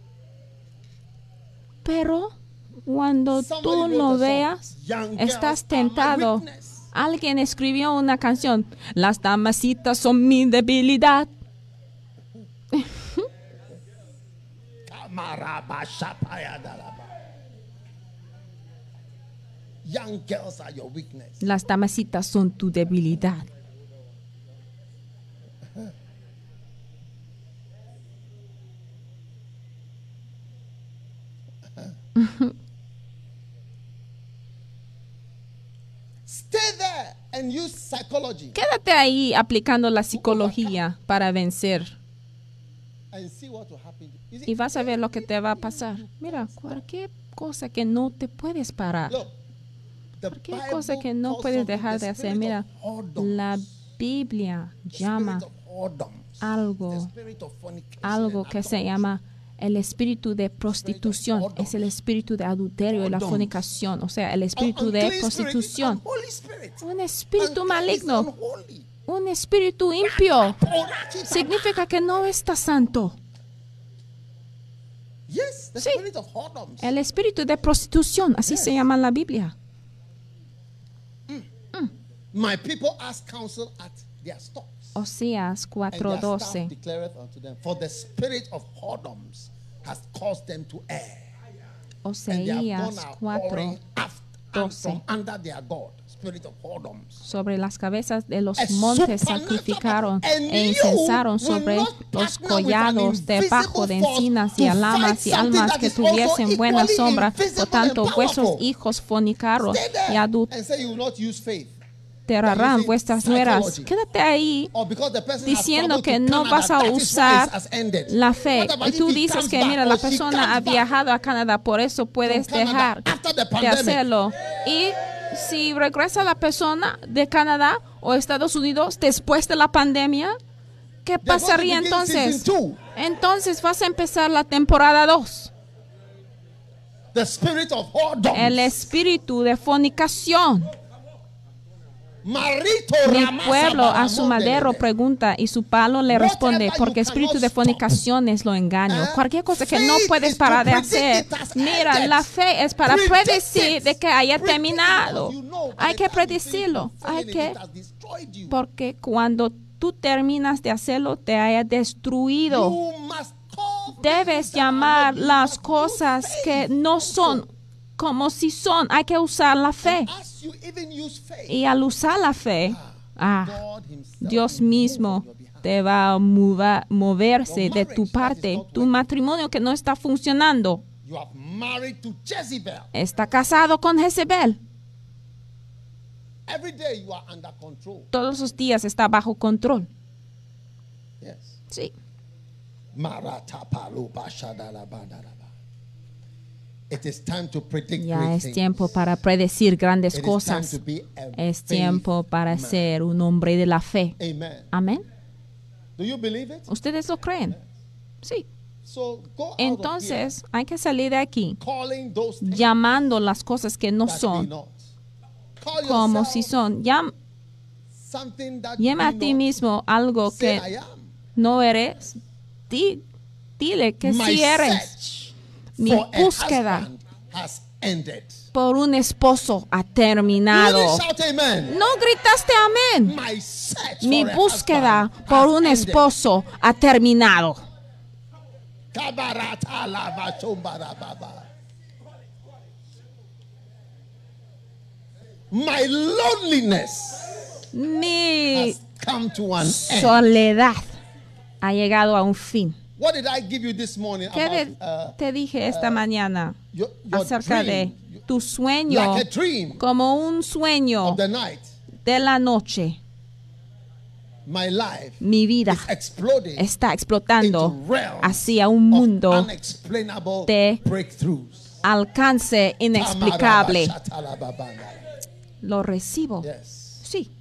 Pero cuando tú lo veas, estás tentado. Alguien escribió una canción. Las damasitas son mi debilidad. Young girls are your weakness. Las damasitas son tu debilidad. Stay there and use psychology Quédate ahí aplicando la psicología para vencer. and see what will happen. You see, Y vas a ver lo que te va a pasar. Mira, cualquier cosa que no te puedes parar. look, the Cualquier Bible cosa que no calls puedes something dejar the de hacer. spirit Mira, of whoredoms. la Biblia The llama spirit of whoredoms. The algo spirit of fornication algo and que se adultery. llama el espíritu de prostitución. Es el espíritu de adulterio y la fornicación. O sea, el espíritu de Unclean spirit is prostitución. unholy spirit. Un espíritu Unclean is maligno. unholy. Un espíritu impío. Significa que no está santo. Yes, the Sí. spirit of whoredoms. El espíritu de prostitución. Así se llama en la Biblia. My people ask counsel at their stocks. Oseas And their staff 4:12. declareth unto them, for the spirit of whoredoms has caused them to err. And they have Oseas gone out whoring 4 after and 12. from under their God, spirit of whoredoms. Sobre las cabezas de los A montes supernatural sacrificaron power. And e you incensaron will sobre not los partner with collados an debajo de invisible encinas force y to alamas fight y almas something que that is also tuviesen buena equally sombra. invisible Por tanto, and vuestros powerful. hijos fornicaron Stay y there and say you will not use faith. adulterarán using vuestras nueras. psychology. Quédate ahí Or because the person has diciendo traveled que to no Canada, vas a that is why usar it has ended. la fe. What about Y if tú he dices comes que, back mira, or la she persona comes ha back viajado a Canadá, por eso puedes from Canada dejar after the de pandemic? hacerlo. Y si regresa la persona de Canadá o Estados Unidos después de la pandemia, ¿qué They're going to pasaría begin entonces? season 2. Entonces vas a empezar la temporada 2. The spirit of whoredoms. El espíritu de fornicación. Marito Mi ramasa pueblo a su baramón madero delebe. pregunta y su palo le responde, Whatever porque you espíritu cannot de stop. fornicación es lo engaño. Cualquier cosa que no Faith puedes is parar to de predict hacer. it has Mira, ended. la fe es para Predict predecir it. de que haya Predict it terminado. because you know by Hay the que time you finish predecirlo. Hay fulfilling que, it, it has destroyed you. porque cuando tú terminas de hacerlo, te haya destruido. You must call Debes things that are llamar not. You las must cosas use que faith no also. son como si son. Hay que usar la fe. And as you even use faith, Y al usar la fe, God himself Dios will move mismo on your behalf. te va a moverse de tu parte. Tu matrimonio que no está funcionando You are married to Jezebel. está casado con Jezebel. Every day you are under control. Todos los días está bajo control. Yes. Sí. It is time to predict Ya great es things. tiempo para predecir grandes It is time cosas. to be a Es faith tiempo para man. ser un hombre de la fe. Amen. Amén. Do you believe it? ¿Ustedes lo creen? Sí. So go out Entonces hay que salir de aquí of here calling those things llamando las cosas que no that be son not. Call como yourself si son. something that Llama a be ti not. mismo algo Say, que I am. no eres. Dile que My sí eres. search Mi for a búsqueda husband has ended. por un esposo ha You terminado. didn't shout amen. No gritaste amén. My search Mi for a búsqueda husband por has un ended. esposo ha terminado. Kabarata lava chombarababa. My loneliness Mi has come to an end. soledad ha llegado a un fin. What did I give you this morning ¿Qué about te dije esta mañana your acerca dream? de tu sueño Like a dream como un sueño of the night. de la noche? My life Mi vida is exploding está explotando into realms hacia un of mundo unexplainable de breakthroughs. alcance inexplicable. Tamarabashatalababana. Lo recibo. Yes. Sí.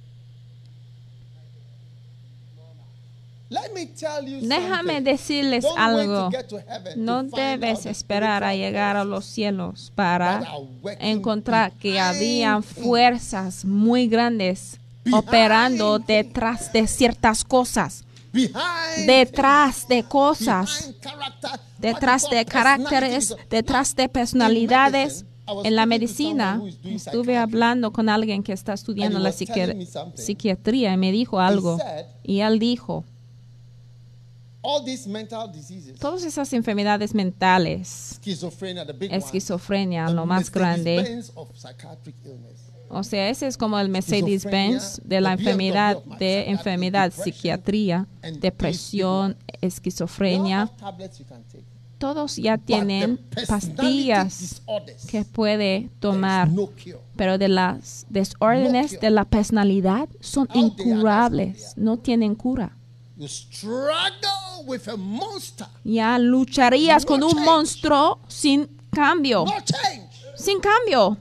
Let me tell you Déjame something. decirles Don't wait algo. to get to heaven No to find out debes the esperar a spiritual llegar a forces los cielos that para are working encontrar que behind habían things. fuerzas muy grandes Behind operando things. detrás de ciertas cosas, Behind detrás de things. cosas, Behind character, detrás what you de call caracteres, personalities. detrás de In personalidades. medicine, I was En la speaking to medicina, someone who is doing estuve psychiatry. hablando con alguien que está estudiando And he la was telling me something. psiquiatría y me dijo algo. said, Y él dijo, all these mental diseases, todas esas enfermedades mentales, schizophrenia, the big one, esquizofrenia, the lo más grande, Mercedes-Benz of psychiatric illness. O sea, ese es como el Mercedes-Benz de la enfermedad, psiquiatría, depresión, esquizofrenia. Todos ya tienen pastillas que puede tomar, pero de las desórdenes de la personalidad son incurables, no tienen cura. Ya lucharías con un monstruo sin cambio. Sin cambio.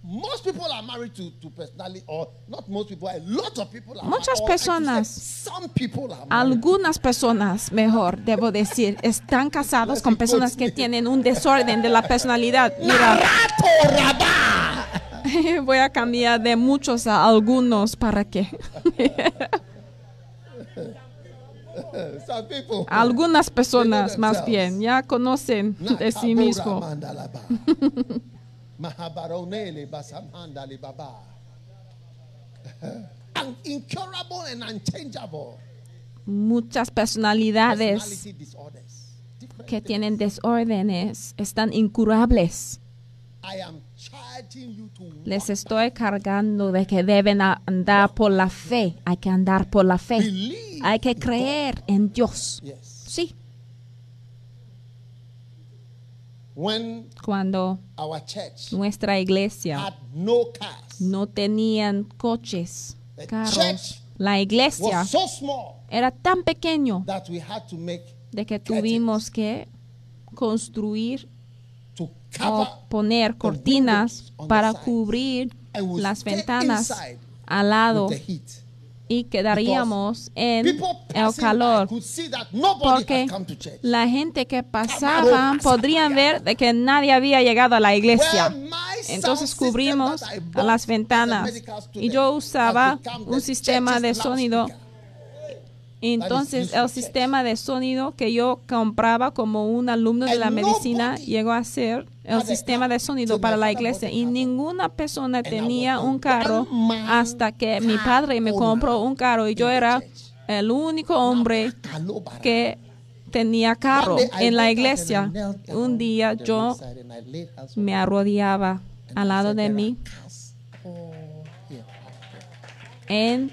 Muchas personas, algunas personas, mejor debo decir, están casados con personas que tienen un desorden de la personalidad. Mira, voy a cambiar de muchos a algunos para que algunas personas más bien ya conocen de sí mismos. Muchas personalidades que tienen desórdenes están incurables. Les estoy cargando de que deben andar por la fe. Hay que andar por la fe. Hay que creer en Dios. Sí. Cuando nuestra iglesia no tenían coches, carros, la iglesia era tan pequeño de que tuvimos que construir o poner cortinas para cubrir las ventanas al lado y quedaríamos en el calor, porque la gente que pasaba podrían ver de que nadie había llegado a la iglesia. Entonces cubrimos a las ventanas y yo usaba un sistema de sonido. Entonces el sistema de sonido que yo compraba como un alumno de la medicina llegó a ser el sistema de sonido para la iglesia, y ninguna persona tenía un carro hasta que mi padre me compró un carro, y yo era el único hombre que tenía carro en la iglesia. Un día yo me arrodillaba al lado de mí en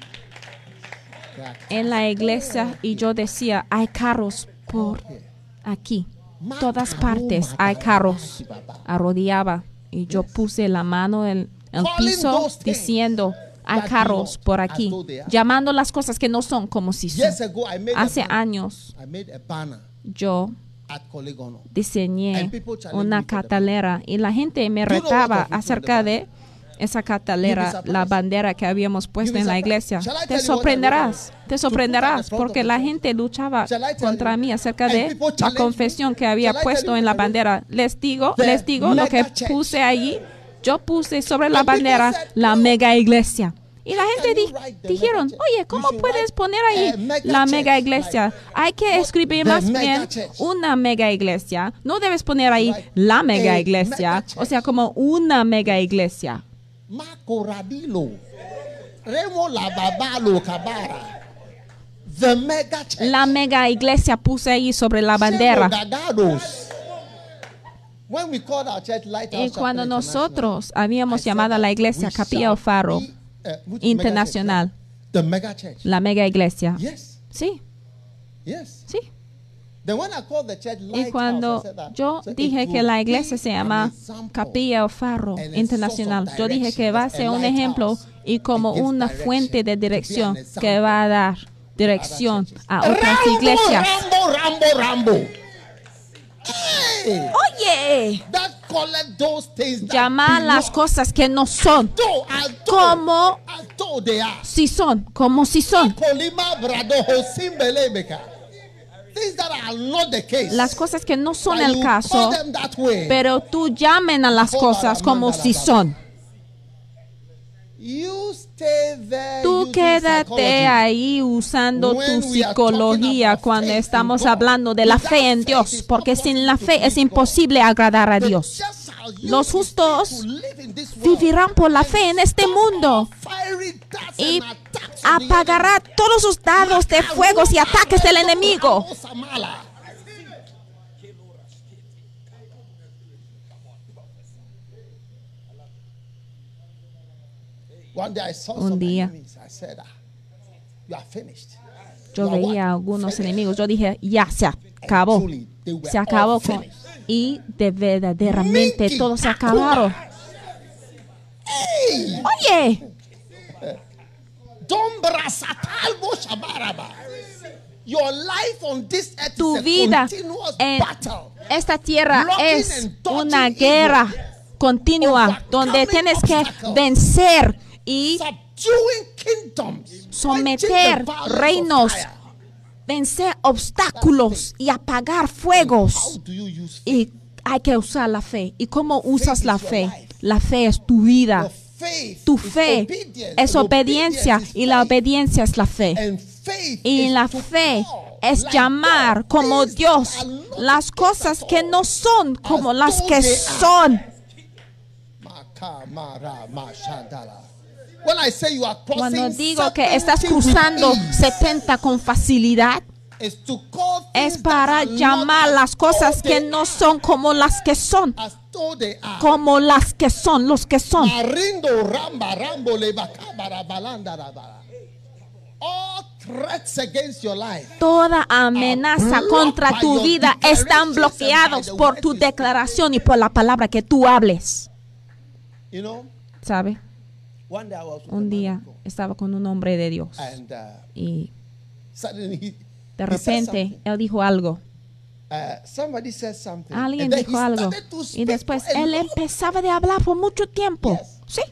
la iglesia y yo decía, hay carros por aquí, todas partes hay carros. Arrodillaba y yo puse la mano en el piso diciendo, hay carros por aquí, llamando las cosas que no son como si son. Hace años yo diseñé una cartelera y la gente me retaba acerca de esa cartelera, la bandera que habíamos puesto en la iglesia. Te sorprenderás, porque la gente luchaba contra mí acerca de la confesión que había puesto en la bandera. Les digo lo que puse allí. Yo puse sobre la bandera la mega iglesia. Y la gente dijeron, oye, ¿cómo puedes poner ahí la mega iglesia? Hay que escribir más bien una mega iglesia. No debes poner ahí la mega iglesia, o sea, como una mega iglesia. La mega iglesia puse ahí sobre la bandera. Y cuando nosotros habíamos llamado a la iglesia Capilla El Faro Internacional, la mega iglesia. Sí. Sí. Y cuando yo dije que la iglesia se llama Capilla El Faro Internacional, yo dije que va a ser un ejemplo y como una fuente de dirección que va a dar dirección a otras iglesias. Oye, llamar las cosas que no son como si son, como si son. Las cosas que no son el caso, pero tú llamen a las cosas como si son. Tú quédate ahí usando tu psicología cuando estamos hablando de la fe en Dios, porque sin la fe es imposible agradar a Dios. Los justos vivirán por la fe en este mundo y apagará todos sus dardos de fuego y ataques del enemigo. Un día yo veía a algunos enemigos. Yo dije, ya se acabó. Se acabó. Y verdaderamente todo se acabaron. Oye. Tu vida en esta tierra es una guerra continua donde tienes que vencer y someter reinos, vencer obstáculos y apagar fuegos. Y hay que usar la fe. ¿Y cómo usas la fe? La fe es tu vida. Tu fe es obediencia y la obediencia es la fe. Y la fe es llamar como Dios las cosas que no son como las que son. Cuando digo que estás cruzando 70 con facilidad, es para llamar las cosas que no son como las que son. Como las que son, los que son. Toda amenaza contra tu vida están bloqueados por tu declaración y por la palabra que tú hables. ¿Sabe? Un día estaba con un hombre de Dios y de repente él dijo algo. Alguien dijo algo y después él empezaba de hablar por mucho tiempo. Sí.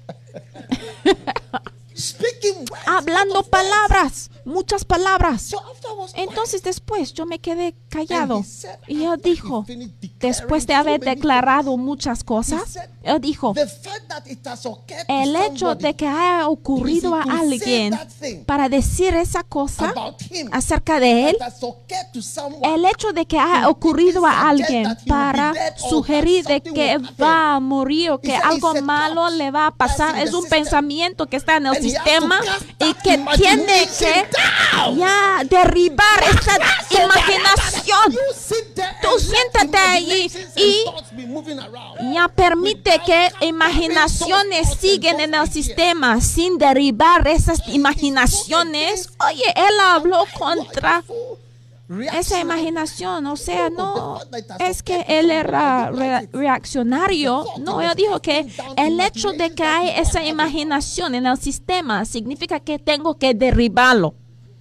Hablando palabras, muchas palabras. Entonces después yo me quedé callado y él dijo, después de haber declarado muchas cosas, él dijo, el hecho de que haya ocurrido a alguien para decir esa cosa acerca de él, el hecho de que haya ocurrido a alguien para sugerir de que va a morir o que algo malo le va a pasar, es un pensamiento que está en el sistema y que tiene que ya derribar esa imaginación. Tú siéntate allí y ya permite que imaginaciones siguen en el sistema sin derribar esas imaginaciones. Oye, él habló contra esa imaginación, o sea, no es que él era reaccionario, no, él dijo que el hecho de que hay esa imaginación en el sistema significa que tengo que derribarlo.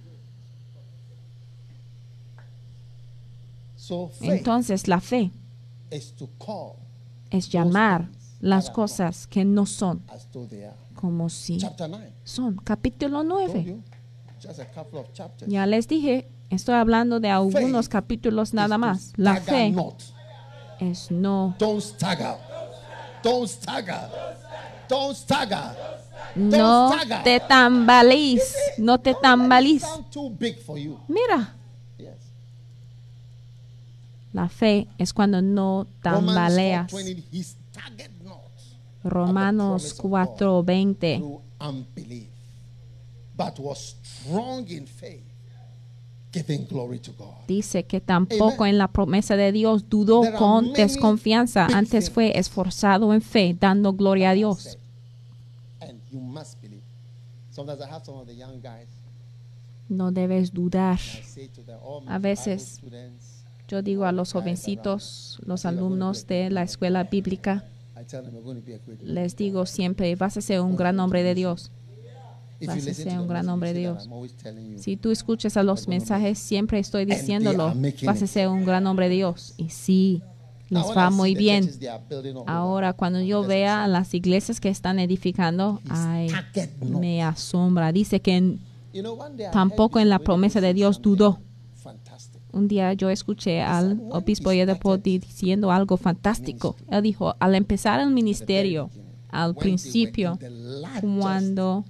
Entonces la fe es llamar las cosas que no son como si son. Capítulo 9. Ya les dije, estoy hablando de algunos capítulos nada más. La fe es no. No te tambalees. No te tambalees. Mira. La fe es cuando no tambaleas. Romanos 4:20. Dice que tampoco en la promesa de Dios dudó con desconfianza, antes fue esforzado en fe, dando gloria a Dios. No debes dudar. A veces yo digo a los jovencitos, los alumnos de la escuela bíblica, les digo siempre, vas a ser un gran hombre de Dios. Vas a ser un gran hombre de Dios. Si tú escuchas a los mensajes, siempre estoy diciéndolo, vas a ser un gran hombre de Dios. Y sí, les va muy bien. Ahora, cuando yo vea las iglesias que están edificando, ay, me asombra. Dice que tampoco en la promesa de Dios dudó. Un día yo escuché al obispo Yedepo diciendo algo fantástico. Él dijo, al empezar el ministerio, al principio, cuando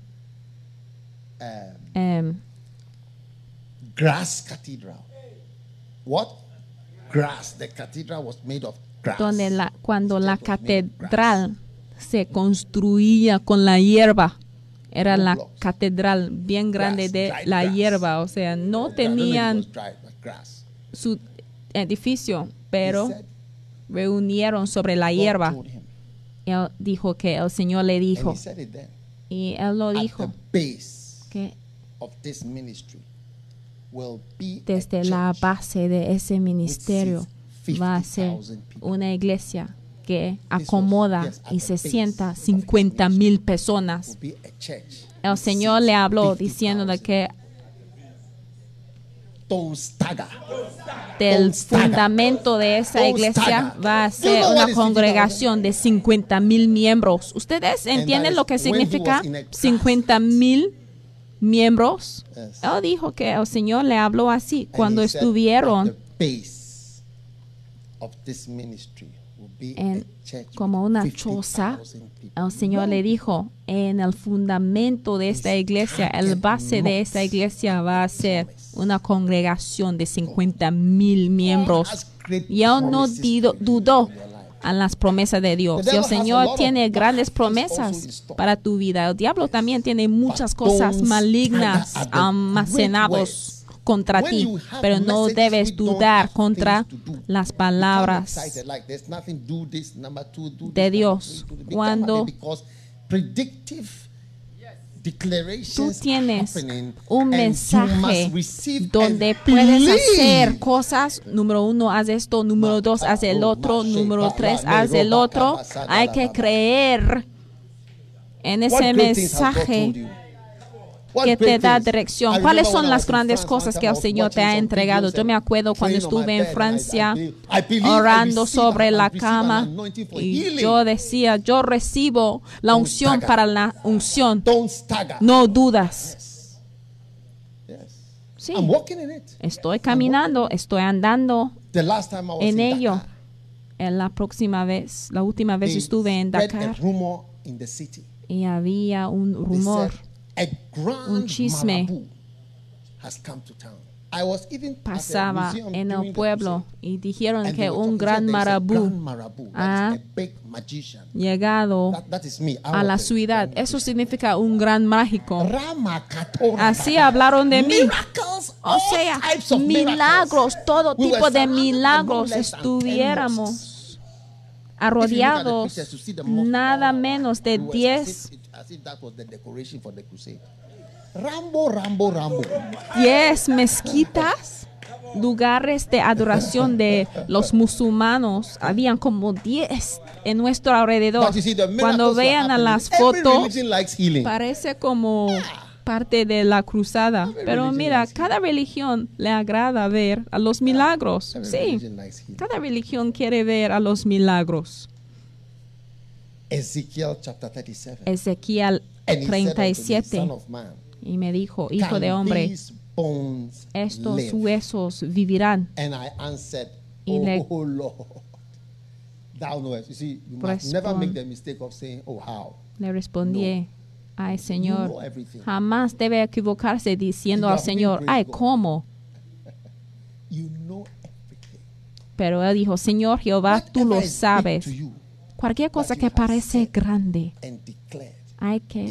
grass cathedral. What? Grass. The cathedral was made of grass. Cuando la catedral se construía con la hierba, era la catedral bien grande de la hierba, o sea, no tenían su edificio, pero reunieron sobre la hierba. Él dijo que el Señor le dijo, Y él lo dijo, que desde la base de ese ministerio va a ser una iglesia que acomoda y se sienta 50,000 personas. El Señor le habló diciéndole que del fundamento de esa iglesia va a ser una congregación de 50,000 miembros. ¿Ustedes entienden lo que significa 50,000 miembros? Él dijo que el Señor le habló así cuando estuvieron como una choza. El Señor le dijo, en el fundamento de esta iglesia, el base de esta iglesia va a ser una congregación de 50,000 miembros. Y él no dudó en las promesas de Dios. Y el Señor tiene grandes promesas para tu vida. El diablo también tiene muchas cosas malignas almacenadas contra ti, pero no debes dudar contra las palabras de Dios. Cuando tú tienes un mensaje donde puedes hacer cosas, número 1, haz esto, número 2, haz el otro, número 3, haz el otro, hay que creer en ese mensaje que te da dirección. ¿Cuáles son las grandes cosas que el Señor te ha entregado? Yo me acuerdo cuando estuve en Francia orando sobre la cama y yo decía, yo recibo la unción para la unción. No dudas. Sí, estoy caminando, estoy andando en ello. La última vez estuve en Dakar y había un rumor, un chisme pasaba en el pueblo y dijeron que un gran marabú ha llegado a la ciudad. Eso significa un gran mágico. Así hablaron de mí. O sea, milagros, todo tipo de milagros. Estuviéramos arrodeados nada menos de 10 mezquitas, lugares de adoración de los musulmanes. Habían como 10 en nuestro alrededor. Cuando vean a las fotos, parece como parte de la cruzada. Pero mira, cada religión le agrada ver a los milagros. Sí, cada religión quiere ver a los milagros. Ezequiel 37. Y me dijo, hijo de hombre, estos huesos vivirán. Y le respondí, ay Señor, jamás debe equivocarse diciendo al Señor, ay, ¿cómo? Pero él dijo, Señor Jehová, tú lo sabes. Cualquier cosa que parece grande, hay que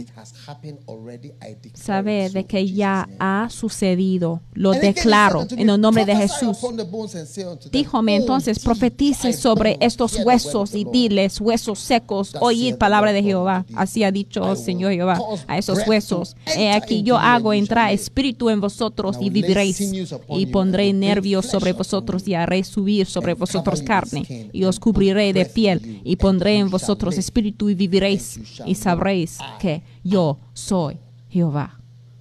saber de que ya ha sucedido. Lo declaro en el nombre de Jesús. Díjome entonces, profetice sobre estos huesos y diles, huesos secos, oíd palabra de Jehová. Así ha dicho el Señor Jehová a esos huesos. He aquí yo hago entrar espíritu en vosotros y viviréis. Y pondré nervios sobre vosotros y haré subir sobre vosotros carne. Y os cubriré de piel y pondré en vosotros espíritu y viviréis. Y sabréis que yo soy Jehová.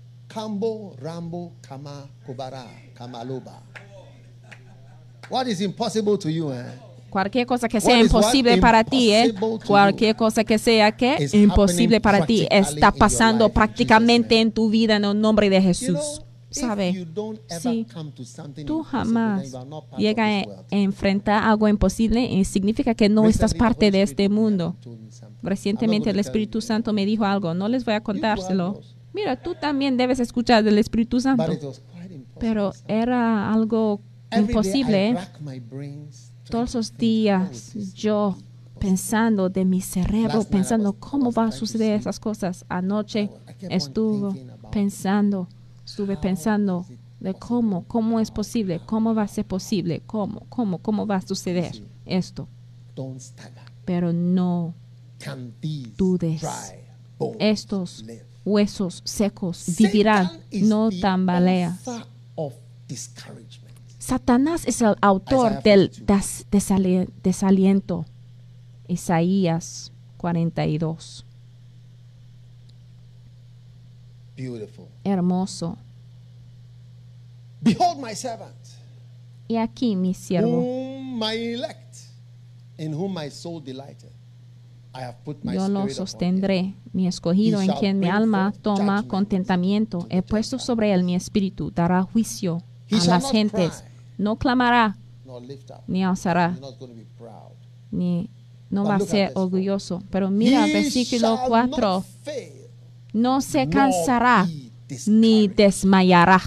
Cualquier cosa que sea imposible para ti, cualquier cosa que sea imposible para ti, está pasando prácticamente en tu vida en el nombre de Jesús. ¿Sabe? Si tú jamás llegas a enfrentar algo imposible, significa que no estás parte de este mundo. Recientemente el Espíritu Santo me dijo algo, no les voy a contárselo. Mira, tú también debes escuchar del Espíritu Santo. Pero era algo imposible. Todos los días yo pensando de mi cerebro, pensando cómo va a suceder esas cosas. Anoche estuve pensando de cómo es posible, cómo va a ser posible, cómo va a suceder esto. Pero no dudes, estos huesos secos vivirán, no tambalea. Satanás es el autor del desaliento. Isaías 42. Hermoso. Behold my servant. Y aquí mi siervo. Whom my elect, in whom my soul delighteth. I have put my Yo lo spirit upon sostendré, him. mi escogido, He en shall quien mi bring alma forth toma judgment contentamiento. to the He puesto Gentiles. sobre él mi espíritu, dará juicio He a shall las not gentes. cry, No clamará, nor lift up. ni alzará, He's not going to be proud. ni no But va a look at ser verse 4. orgulloso. Pero mira, He versículo shall 4. not fail, No se nor cansará be ni discouraged desmayará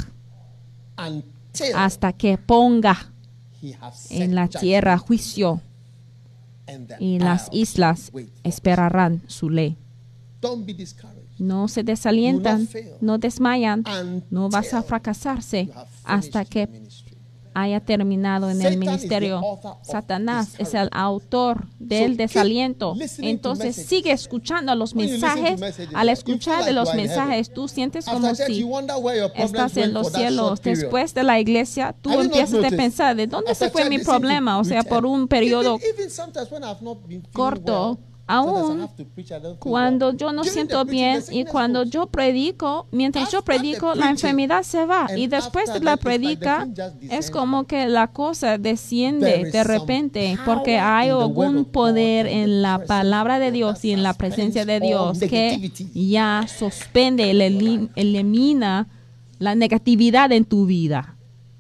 until hasta que ponga he has set en la tierra judgment, juicio, and the y las isles islas wait for his esperarán su ley. Don't be discouraged. No se desalientan, no desmayan, no vas a fracasarse You have hasta finished que the ministry. haya terminado en el Satan ministerio. is the author of Satanás es el autor So del keep desaliento. listening to Entonces messages. sigue escuchando los When you listen to mensajes. messages, Al you escuchar feel de like los you are in mensajes, tú sientes como After church, si you wonder where your problems estás en went los for that cielos. short period. Después de la iglesia, tú Have you not empiezas a noticed? pensar, ¿de dónde After se fue church, mi they seem to problema? O sea, return. por un periodo Even sometimes when I've not been feeling corto, well, sometimes I aún have to preach, I don't feel cuando well. yo no During siento the preaching, bien the y sickness cuando goes. yo predico, mientras yo After the predico, la preaching, enfermedad se va. and Y después after de la that, it's like the predica, thing just es descends como que la cosa There desciende is de some repente, power porque hay in the word algún of God poder and the en la presence palabra de of God Dios that y en la suspends presencia de all Dios que negativity. ya suspende, elimina la negatividad en tu vida.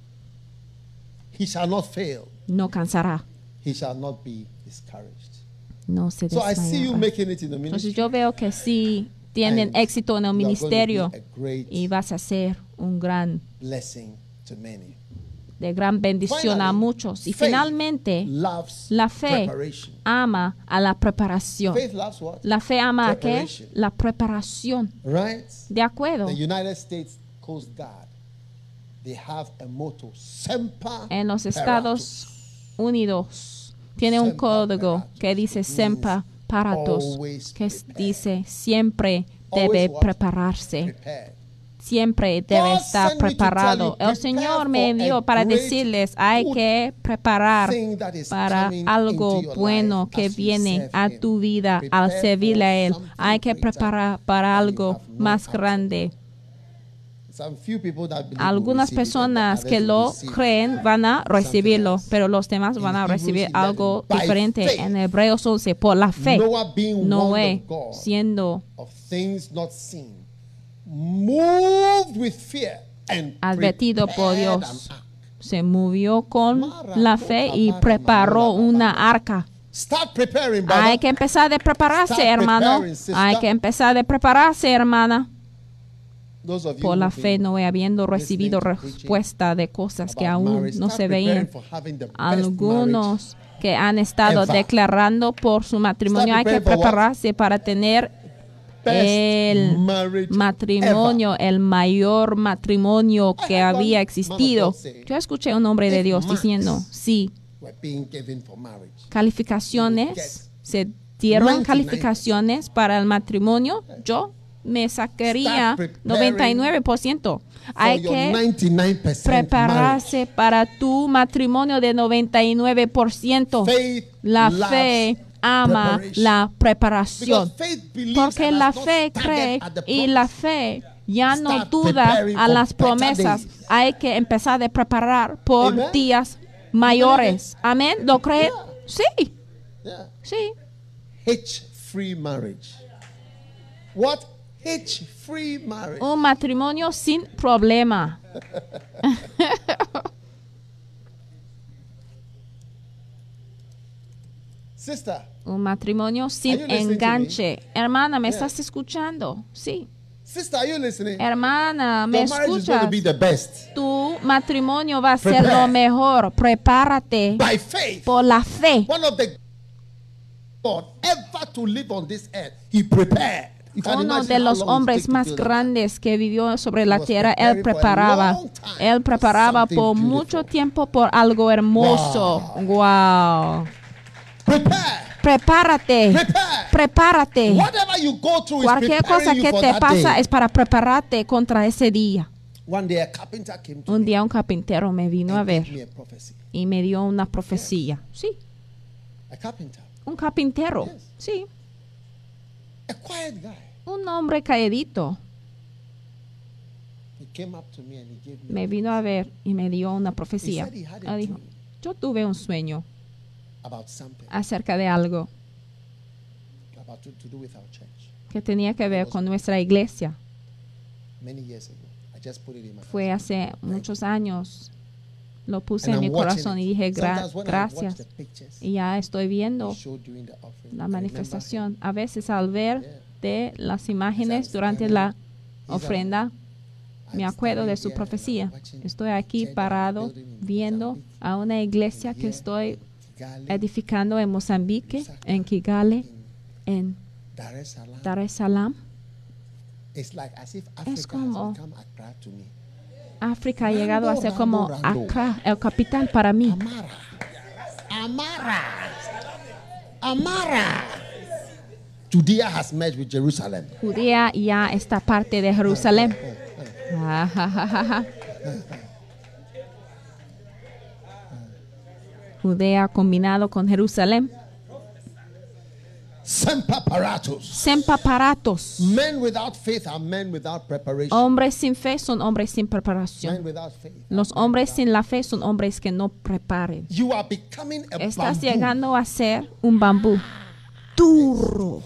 He shall not fail. No cansará, He shall not be discouraged. no se So I see you desmayará. making it in the Entonces ministry. yo veo que sí tienen And éxito en el you are going to ministerio be a great y vas a ser un gran, blessing to many. de gran bendición a Finally, muchos. Y faith finalmente, loves la fe preparation. ama a la preparación. Faith loves what? La fe ama a qué? Preparation. La preparación. Right? De acuerdo. The United States Coast Guard, they have a motto, Semper En los Paratus. Estados Unidos tiene un Semper código Paratus. que dice It semper means paratus, always que prepare. dice siempre Always debe what? prepararse. Prepared. Siempre debe God estar sent me to preparado. tell you, El Señor prepare me for envió a para great decirles, hay good que preparar thing that is para coming algo into your bueno life que as you viene serve a Him. tu vida al Prepare servirle a for Él. something Hay que greater preparar para than you algo have no más idea. grande. Some few people that believe will Algunas receive it and the personas others que will lo receive creen van a recibirlo, else. pero los demás In van a Hebrews recibir 11, algo by diferente. faith, En Hebreos 11, por la fe, Noah being Noé warned of God siendo of things not seen, moved with fear and advertido por prepared Dios, an ark. se movió con la fe y preparó una arca. Start preparing, brother. Hay que empezar de prepararse, Start hermano. preparing, sister. Hay que empezar de prepararse, hermana. Those of you Por la who've fe, been no habiendo recibido listening to preaching respuesta de cosas que about aún marriage, no start se preparing veían. for having the best Algunos que han estado ever. declarando por su matrimonio, hay que preparing for what? prepararse para tener Best el marriage matrimonio, el mayor matrimonio I que heard one había man existido. of God say, Yo escuché un hombre de if Dios marks diciendo, sí, were being given for marriage. calificaciones, se dieron 99%. calificaciones para el matrimonio, yo me sacaría Start preparing 99%. For Hay your que 99% prepararse para tu matrimonio de 99%. marriage. Faith La loves fe ama preparation. la preparación. Because faith believes Porque and la has not fe staggered cree at the y promise. la fe ya no Start duda preparing a for las better promesas. days. Hay que empezar de preparar por Amen. días mayores. Amén. ¿Lo creen? Sí, Yeah. sí. Hitch-free marriage. What? Hitch-free marriage. Un matrimonio sin problema. Sister, Un matrimonio sin Are you listening to enganche. Hermana, ¿me Yeah. estás escuchando? Sí. sister, are you listening? Hermana, ¿me Your marriage is going to escuchas? be the best. Tu matrimonio va a ser Prepare. lo mejor. Prepárate By faith. por la fe. One of the God ever to live on this earth, he prepared. You can Uno imagine de how los long it hombres took to más build that. grandes que vivió sobre la was tierra, preparing él for a preparaba. long time Él for preparaba something por beautiful. mucho tiempo por algo hermoso. Wow. Prepare. Prepárate. Prepárate. Cualquier cosa que te pasa es para prepararte contra ese día. Un día un carpintero me vino a ver y me dio una profecía. Sí. Un carpintero. Sí. Un hombre calladito. Me vino a ver y me dio una profecía. Él dijo, yo tuve un sueño acerca de algo que tenía que ver con nuestra iglesia. Fue hace muchos años. Lo puse en mi corazón y dije gracias. Y ya estoy viendo la manifestación. A veces al ver de las imágenes durante la ofrenda, me acuerdo de su profecía. Estoy aquí parado viendo a una iglesia que estoy edificando en Mozambique, en Kigali, en Dar es Salaam. Es como África ha llegado a ser como Accra, el capital para mí. Amara. Judea has merged with Jerusalem. Judea ya está parte de Jerusalén. Judea combinado con Jerusalén. Sempaparatos. Men without faith are men without preparation. Hombres sin fe son hombres sin preparación. Los hombres sin la fe son hombres que no preparen. You are becoming a Estás bamboo. llegando a ser un bambú duro.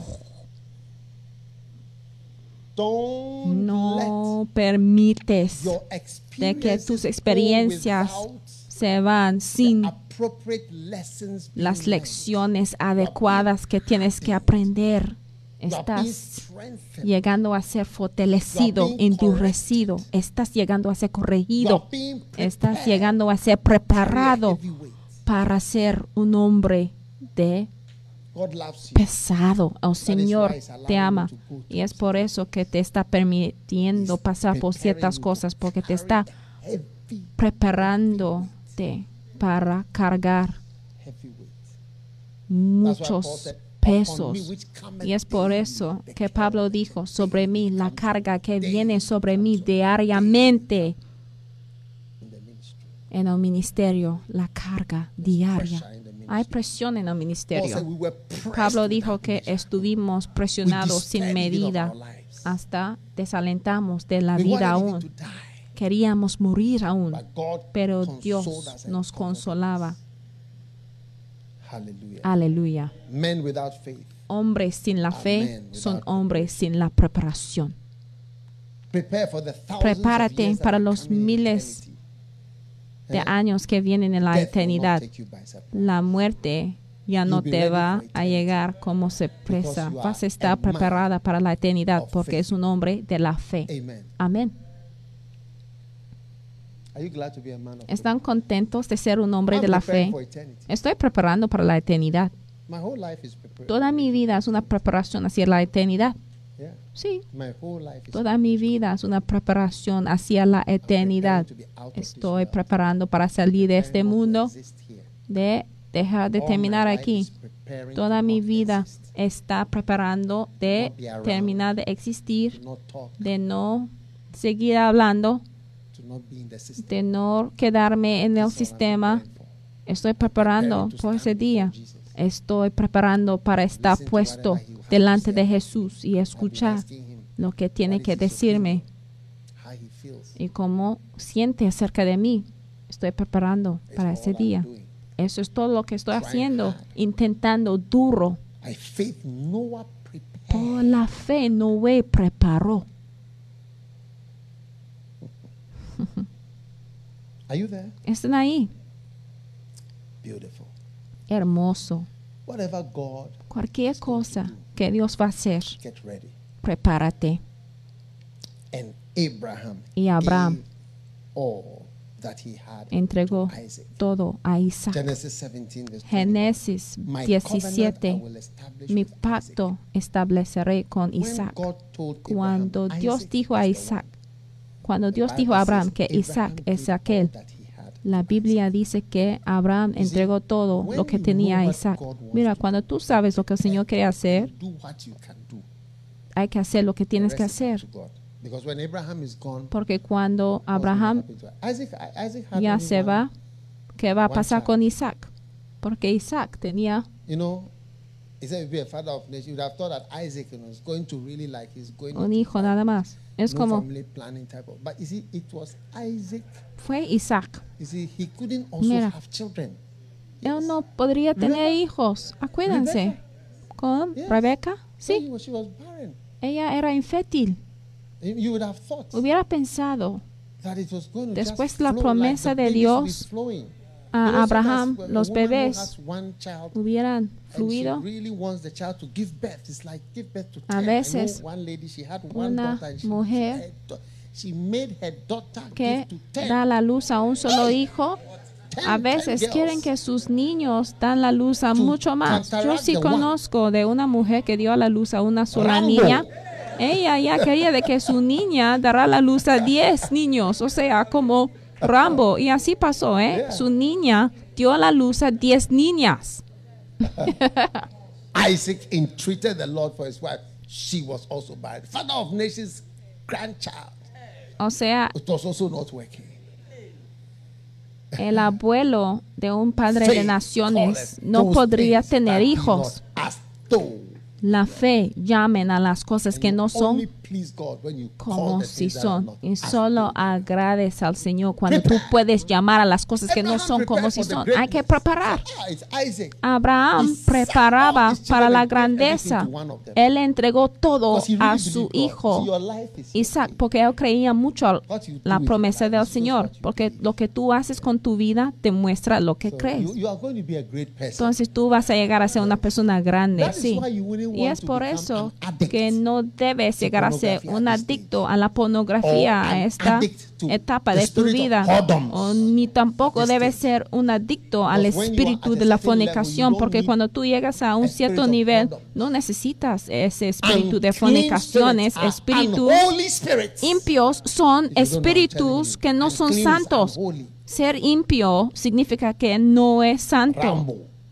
No permites de que tus experiencias se van sin las lecciones adecuadas que tienes que aprender. Estás llegando a ser fortalecido, endurecido. Estás llegando a ser corregido. Estás llegando a ser preparado para ser un hombre de pesado. El Señor te ama y es por eso que te está permitiendo pasar por ciertas cosas, porque te está preparándote para cargar muchos pesos. Y es por eso que Pablo dijo, sobre mí, la carga que viene sobre mí diariamente en el ministerio, la carga diaria. Hay presión en el ministerio. Pablo dijo que estuvimos presionados sin medida, hasta desalentamos de la vida aún. Queríamos morir aún, pero Dios nos consolaba. Aleluya. Hombres sin la fe son hombres sin la preparación. Prepárate para los miles de años que vienen en la eternidad. La muerte ya no te va a llegar como sorpresa. Vas a estar preparada para la eternidad porque es un hombre de la fe. Amén. ¿Están contentos de ser un hombre de la fe? Estoy preparando para la eternidad. Toda mi vida es una preparación hacia la eternidad. Sí, toda mi vida es una preparación hacia la eternidad. Estoy preparando para salir de este mundo, de dejar de terminar aquí. Toda mi vida está preparando de terminar de existir, de no seguir hablando, de no quedarme en el sistema. Estoy preparando por ese día. Estoy preparando para estar puesto delante de Jesús y escuchar lo que tiene que decirme y cómo siente acerca de mí. Estoy preparando para ese día. Eso es todo lo que estoy haciendo, intentando duro. Por la fe Noé preparó. ¿Están ahí? Hermoso. Cualquier cosa que Dios va a hacer, prepárate. Y Abraham entregó todo a Isaac. Génesis 17, mi pacto estableceré con Isaac. Cuando Dios dijo a Abraham que Isaac es aquel, La Biblia dice que Abraham entregó todo lo que tenía a Isaac. Mira, cuando tú sabes lo que el Señor quiere hacer, hay que hacer lo que tienes que hacer. Porque cuando Abraham ya se va, ¿qué va a pasar con Isaac? Porque Isaac tenía un hijo nada más. Es como fue Isaac. Mira, él no podría tener hijos. Acuérdense, con Rebeca, sí, ella era infértil. Hubiera pensado, después de la promesa de Dios a Abraham, los bebés hubieran fluido. A veces, una mujer que da a la luz a un solo hijo, a veces quieren que sus niños dan la luz a mucho más. Yo sí conozco de una mujer que dio a la luz a una sola niña. Ella ya quería de que su niña dará la luz a 10 niños, o sea, como Rambo. Y así pasó, ¿eh? Su niña dio a la luz a 10 niñas. Isaac entreated the Lord for his wife. She was also barren. Father of nations, grandchild. O sea, it was also not working. El abuelo de un padre de naciones no podría tener hijos. La fe llamen a las cosas que no son como si son. Y solo agradece al Señor cuando tú puedes llamar a las cosas que no son como si son. Hay que preparar. Abraham preparaba para la grandeza. Él entregó todo a su hijo Isaac porque él creía mucho la promesa del Señor. Porque lo que tú haces con tu vida demuestra lo que crees. Entonces tú vas a llegar a ser una persona grande. Sí. Y es por eso que no debes llegar a ser un adicto a la pornografía a esta etapa de tu vida. O ni tampoco debes ser un adicto al espíritu de la fornicación, porque cuando tú llegas a un cierto nivel, no necesitas ese espíritu de fornicaciones. Espíritus impios son espíritus que no son santos. Ser impío significa que no es santo.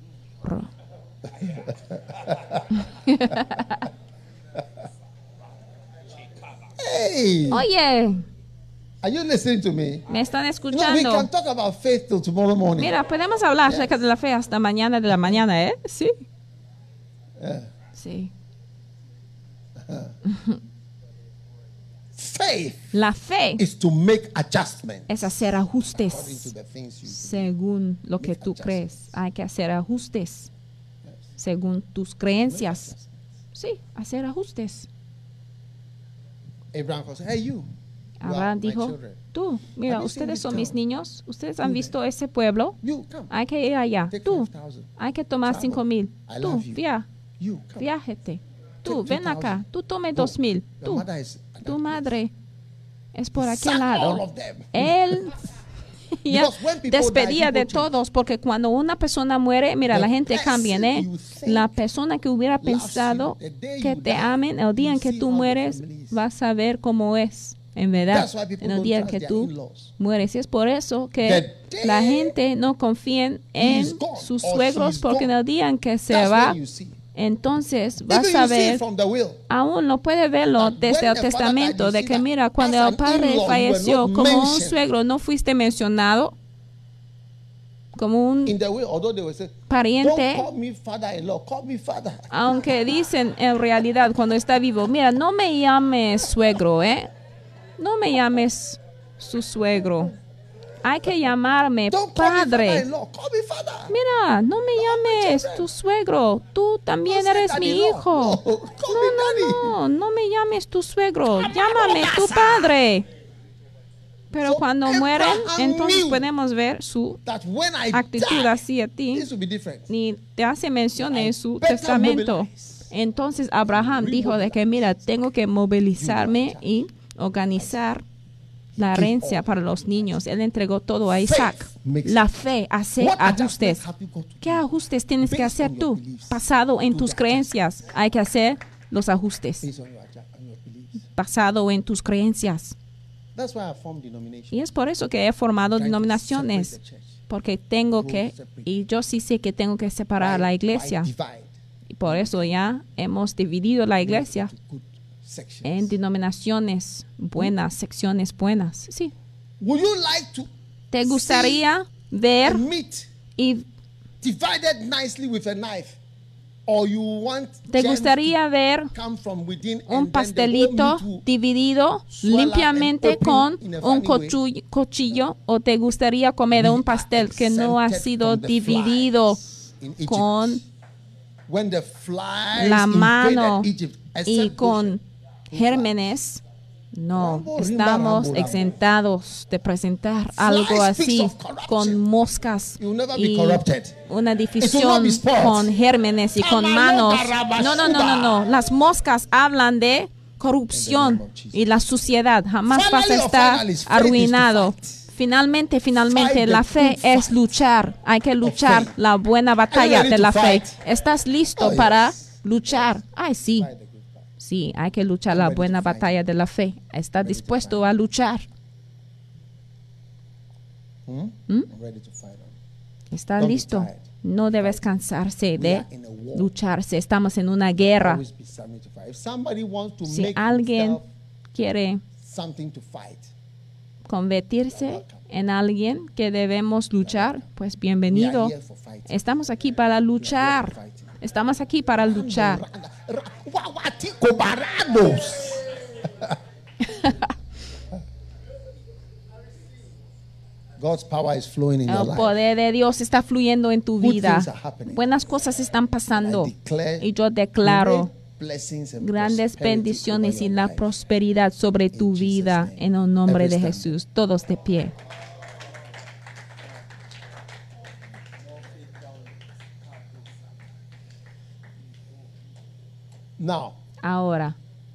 Hey. Oye, are you listening to me? ¿me están No, we escuchando? can talk about faith till tomorrow morning. Mira, podemos hablar acerca de la fe hasta mañana de la mañana, ¿eh? Sí. Sí. Faith La fe is to make adjustments es hacer ajustes according to the things you do. según lo que tú crees. Hay que hacer ajustes según tus creencias. Sí, hacer ajustes. Abraham said, hey, you Abraham are my dijo, children. tú, mira, Have you seen ustedes this son mis town? niños, ustedes han visto ese pueblo, You come. hay que ir allá. Take Tú, 5,000. hay que tomar Travel. 5,000. I Tú, love you. You come. viájate. Tú, Take ven 2,000. acá. Tú tome Go. 2,000. Your Tú, mother is at tu that madre es por place. aquel Sack all lado. of them. Él ya Because when people despedía die, de people change. todos, porque cuando una persona muere, mira, The la gente person cambia, ¿eh? you think La persona que hubiera loves you, pensado the day que you te die, amen, el día en you que see tú how the mueres, family is. vas a ver cómo es, en verdad, That's why people en el don't día en trust que their tú in-laws. mueres. Y es por eso The que day la gente no confía en is gone sus or suegros, she's porque en gone. el día en que se That's va, when you see. entonces Even vas a you see it ver, from the will. aún lo puede verlo That desde when el the father testamento, died, de you que see mira, that cuando as el an padre in-law, you falleció, were not como un mentioned. suegro no fuiste mencionado, como un In the will, although they will say, pariente, don't call me father-in-law, call me father. aunque dicen en realidad cuando está vivo, mira, no me llames suegro, no me llames su suegro, hay que llamarme Don't call me padre. father-in-law, call me father. Mira, no me llames children. tu suegro, tú también Don't say eres mi daddy-in-law. hijo. No, call me daddy. No me llames tu suegro, llámame tu padre. Pero So cuando Abraham mueren, entonces knew podemos ver su That when I actitud die, así a ti, this will be different. ni te hace mención en su better testamento. mobilize. Entonces Abraham dijo de que mira, tengo que movilizarme y organizar la herencia para los niños. Él entregó todo a Isaac. La fe hace What ajustes. adjustments have you got to ¿Qué do? ajustes tienes que Based hacer on your tú? beliefs. Basado en Do tus the creencias. Hay que hacer los ajustes. Based on your beliefs. Basado en tus creencias. That's why I formed denominations. Y es por eso que he formado denominaciones, porque tengo que, y yo sí sé que tengo que separar la iglesia. Y por eso ya hemos dividido la iglesia en denominaciones buenas, secciones buenas. Sí. ¿Te gustaría ver y divided nicely with a knife? ¿Te gustaría ver un pastelito dividido limpiamente con un cuchillo? ¿O te gustaría comer un pastel que no ha sido dividido con la mano y con gérmenes? No, estamos exentados de presentar algo así con moscas y una división con gérmenes y con manos. No. Las moscas hablan de corrupción y la suciedad. Jamás vas a estar arruinado. Finalmente, la fe es luchar. Hay que luchar la buena batalla de la fe. ¿Estás listo para luchar? Ay, sí. Sí, hay que luchar la buena batalla de la fe. ¿Está dispuesto a luchar? ¿Está listo? No debes cansarse de lucharse. Estamos en una guerra. Si alguien quiere convertirse en alguien que debemos luchar, pues bienvenido. Estamos aquí para luchar. Estamos aquí para luchar. El poder de Dios está fluyendo en tu vida. Buenas cosas están pasando. Y yo declaro grandes bendiciones y la prosperidad sobre tu vida en el nombre de Jesús. Todos de pie. Ahora,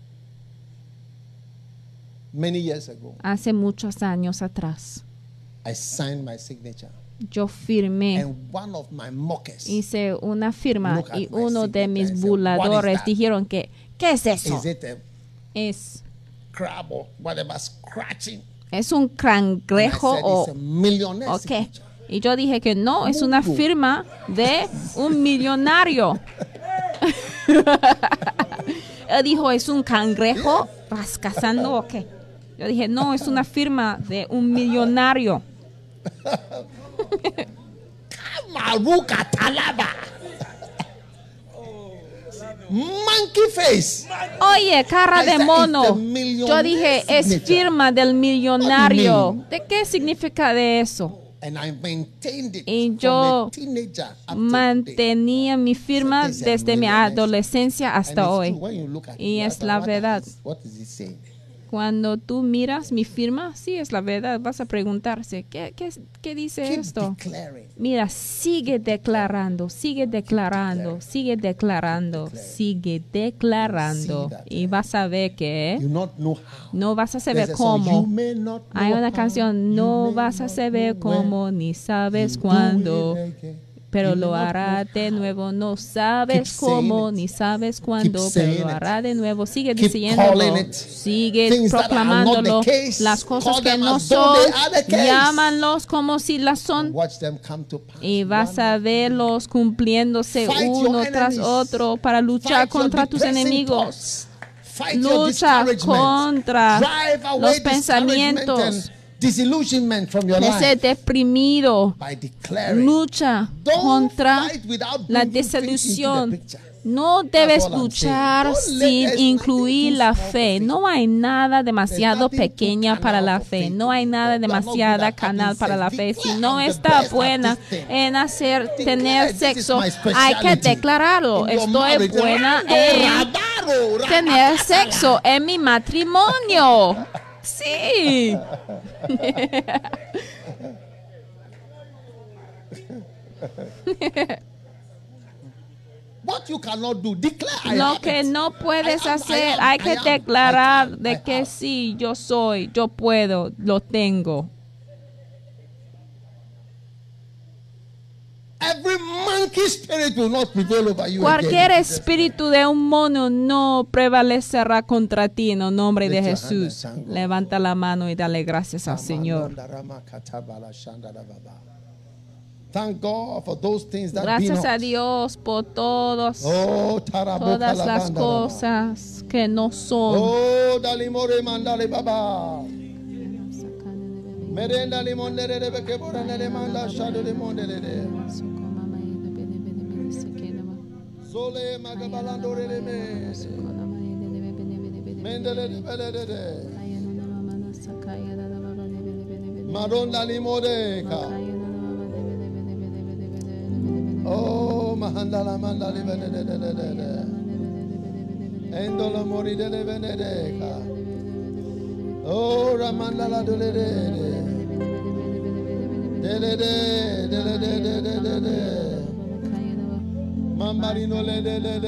hace muchos años atrás, yo firmé, hice una firma y uno de mis burladores dijeron que, ¿qué es eso? ¿Es un cangrejo o qué? Y yo dije que no, es una firma de un millonario. Él dijo, ¿es un cangrejo rascazando o qué? Yo dije, no, es una firma de un millonario. Monkey face. Oye, cara de mono. Yo dije, es firma del millonario. ¿De qué significa de eso? Y yo mantenía mi firma desde mi adolescencia hasta hoy. Y es la verdad. Cuando tú miras mi firma, sí es la verdad. Vas a preguntarse, ¿qué dice esto? Mira, sigue declarando, sigue declarando, sigue declarando, sigue declarando. Y vas a ver que no vas a saber cómo. Hay una canción, no vas a saber cómo, ni sabes cuándo. Pero lo hará de nuevo. No sabes cómo, ni sabes cuándo, pero lo hará de nuevo. Sigue diciéndolo, sigue proclamándolo. Las cosas que no son, llámanlos como si las son. Y vas a verlos cumpliéndose uno tras otro para luchar contra tus enemigos. Lucha contra los pensamientos de ser deprimido. Lucha contra la desilusión. No debes luchar sin incluir la fe. No hay nada demasiado pequeña para la fe. No hay nada demasiada canal para la fe. Si no está buena en tener sexo, hay que declararlo. Estoy buena en tener sexo en mi matrimonio. Sí. Lo que no puedes hacer, hay que declarar de que sí, yo soy, yo puedo, lo tengo. Every monkey spirit will not prevail over you. Cualquier espíritu de un mono no prevalecerá contra ti en el nombre de Jesús. Levanta la mano y dale gracias al Señor. Thank God for those things that gracias a Dios por todas las cosas que no son. Oh, dalimore mandale baba. Merenda limonere de que boranele manda shado de monere. Sole magabalandore de me. Mendele de belede. Madonna limodeka. Oh, mahandala mandale belede. Endolo mori de benedeka. Oh, ramandala dole. Mambarino le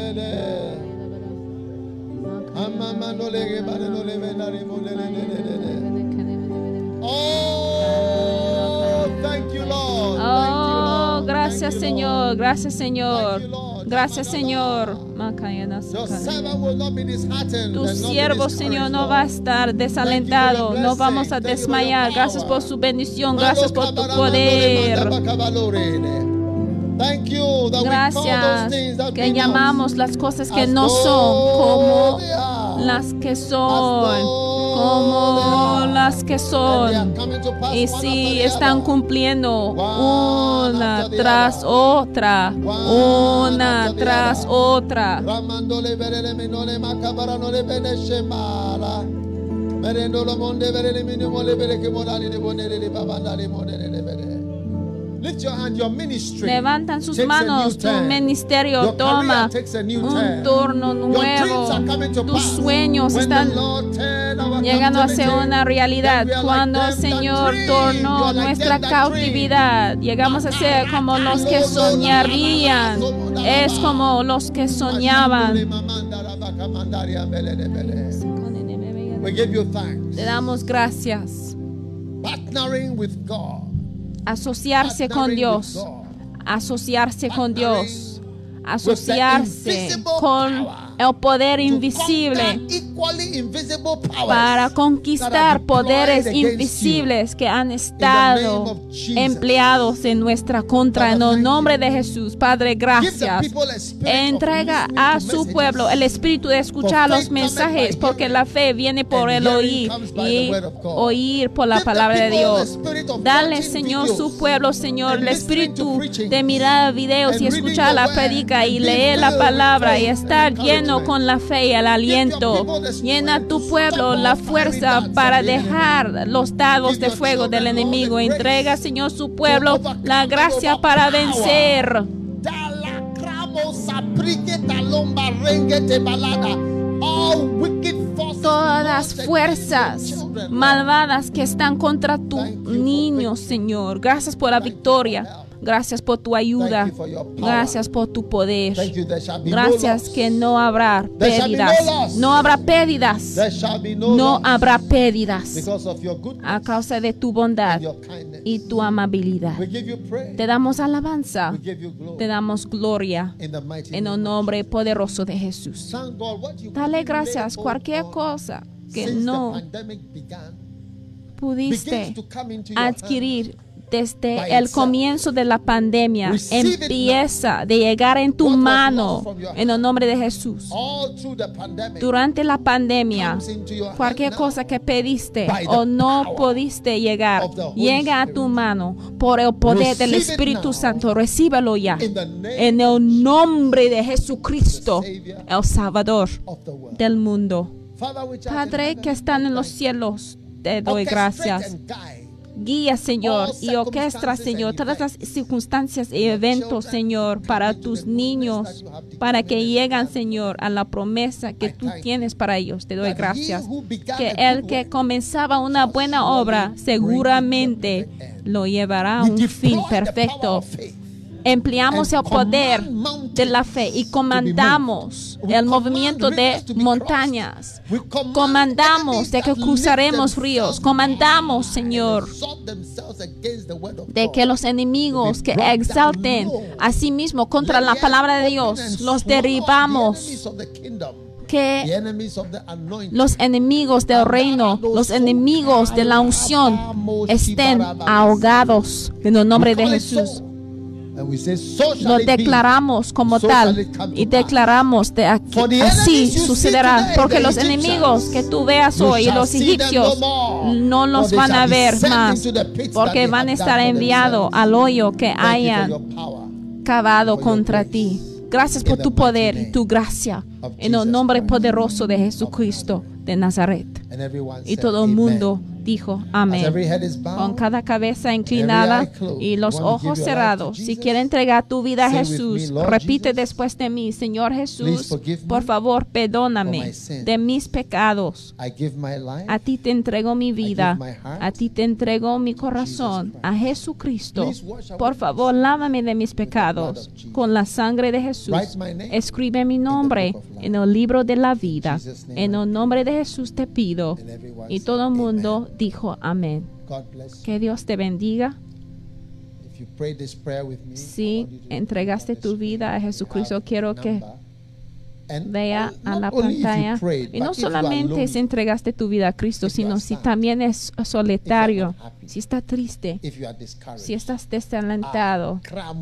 Amamano le barino le venarimo le. Oh, thank you, Lord. Oh, gracias, Señor. Gracias, Señor. Gracias, Señor. Tu siervo, Señor, no va a estar desalentado. No vamos a desmayar. Gracias por su bendición. Gracias por tu poder. Gracias que llamamos las cosas que no son como las que son. Como las que son. Y sí, están cumpliendo una tras otra. Una tras otra. Lift your hand, your ministry. Levantan sus manos, tu ministerio toma un turno nuevo. Tus sueños están llegando a ser una realidad. Cuando el Señor tornó nuestra cautividad, llegamos a ser como los que soñarían. Es como los que soñaban. Te damos gracias. Partnering with God. Asociarse con Dios, asociarse con Dios, asociarse con el poder invisible para conquistar poderes invisibles que han estado empleados en nuestra contra. En el nombre de Jesús, Padre, gracias. Entrega a su pueblo el espíritu de escuchar los mensajes, porque la fe viene por el oír y oír por la palabra de Dios. Dale, Señor, su pueblo, Señor, el espíritu de mirar videos y escuchar la predica y leer la palabra y estar lleno con la fe y el aliento. Llena tu pueblo la fuerza para dejar los dardos de fuego del enemigo. Entrega, Señor, su pueblo la gracia para vencer. Todas las fuerzas malvadas que están contra tu niño, Señor. Gracias por la victoria. Gracias por tu ayuda. Gracias por tu poder. Gracias que no habrá pérdidas. No habrá pérdidas. No habrá pérdidas a causa de tu bondad y tu amabilidad. Te damos alabanza. Te damos gloria en el nombre poderoso de Jesús. Dale gracias. Cualquier cosa que no pudiste adquirir desde el comienzo de la pandemia, empieza de llegar en tu mano en el nombre de Jesús. Durante la pandemia, cualquier cosa que pediste o no pudiste llegar, llega a tu mano por el poder del Espíritu Santo. Recíbelo ya en el nombre de Jesucristo, el Salvador del mundo. Padre que están en los cielos, te doy gracias. Guía, Señor, y orquestra, Señor, todas las circunstancias y eventos, Señor, para tus niños, para que lleguen, Señor, a la promesa que tú tienes para ellos. Te doy gracias. Que el que comenzaba una buena obra, seguramente lo llevará a un fin perfecto. Empleamos el poder de la fe y comandamos el movimiento de montañas. Comandamos de que cruzaremos ríos. Comandamos, Señor, de que los enemigos que exalten a sí mismos contra la palabra de Dios, los derribamos. Que los enemigos del reino, los enemigos de la unción estén ahogados en el nombre de Jesús. Lo declaramos como tal y declaramos de aquí, así sucederá, porque los enemigos que tú veas hoy, los egipcios, no los van a ver más, porque van a estar enviados al hoyo que hayan cavado contra ti. Gracias por tu poder y tu gracia en el nombre poderoso de Jesucristo de Nazaret. Y todo el mundo dijo amén. Con cada cabeza inclinada y los ojos cerrados, si quieres entregar tu vida a Jesús, repite después de mí: Señor Jesús, por favor, perdóname de mis pecados. A ti te entrego mi vida, a ti te entrego mi corazón, a Jesucristo. Por favor, lávame de mis pecados con la sangre de Jesús. Escribe mi nombre en el libro de la vida. En el nombre de Jesús te pido. Y todo el mundo dijo amén. Que Dios te bendiga. Si entregaste tu vida a Jesucristo, quiero que vea a la pantalla. Y no solamente si entregaste tu vida a Cristo, sino si también es solitario, si estás triste, si estás desalentado.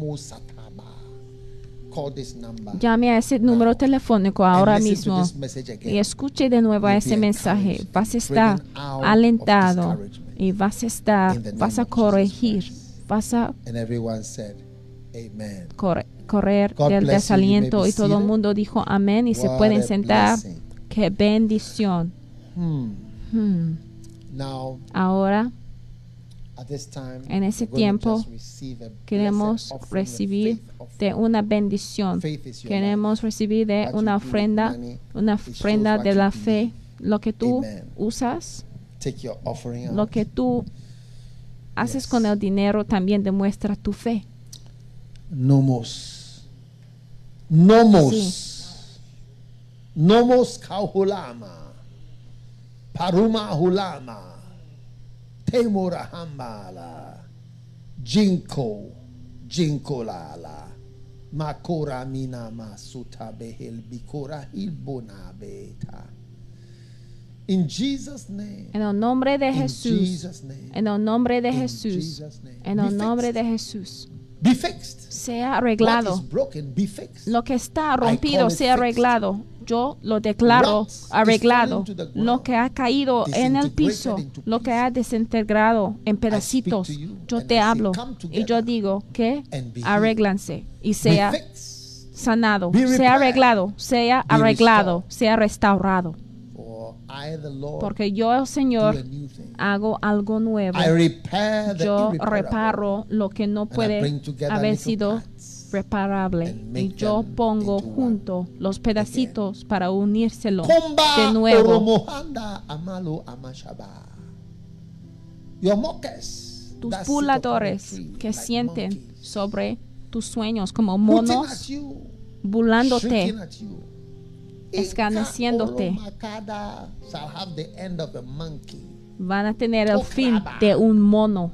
Llame a ese número telefónico ahora mismo y escuche de nuevo ese mensaje. Vas a estar alentado y vas a corregir, vas a correr del desaliento. Y todo el mundo dijo amén y se pueden sentar. ¡Qué bendición! Ahora, en ese tiempo, queremos recibir de una bendición. Queremos recibir de una ofrenda de la fe. Lo que tú usas, lo que tú haces con el dinero también demuestra tu fe. Nomos kahulama, paruma hulama, temora hambala, jinko lala, makora mina masuta behel bikora hilbona beta. In Jesus' name. En el nombre de Jesús. En el nombre de Jesús. En el nombre de Jesús. Be fixed. Sea arreglado. What is broken, be fixed. Lo que está rompido sea arreglado. Yo lo declaro arreglado. Lo que ha caído en el piso, lo que ha desintegrado en pedacitos, yo te hablo y yo digo que arréglanse y sea sanado, sea arreglado, sea restaurado. Porque yo, el Señor, hago algo nuevo. Yo reparo lo que no puede haber sido reparable. Y yo pongo junto los pedacitos para unírselo de nuevo. Tus burladores que sienten sobre tus sueños como monos burlándote, escarneciéndote, van a tener el fin de un mono.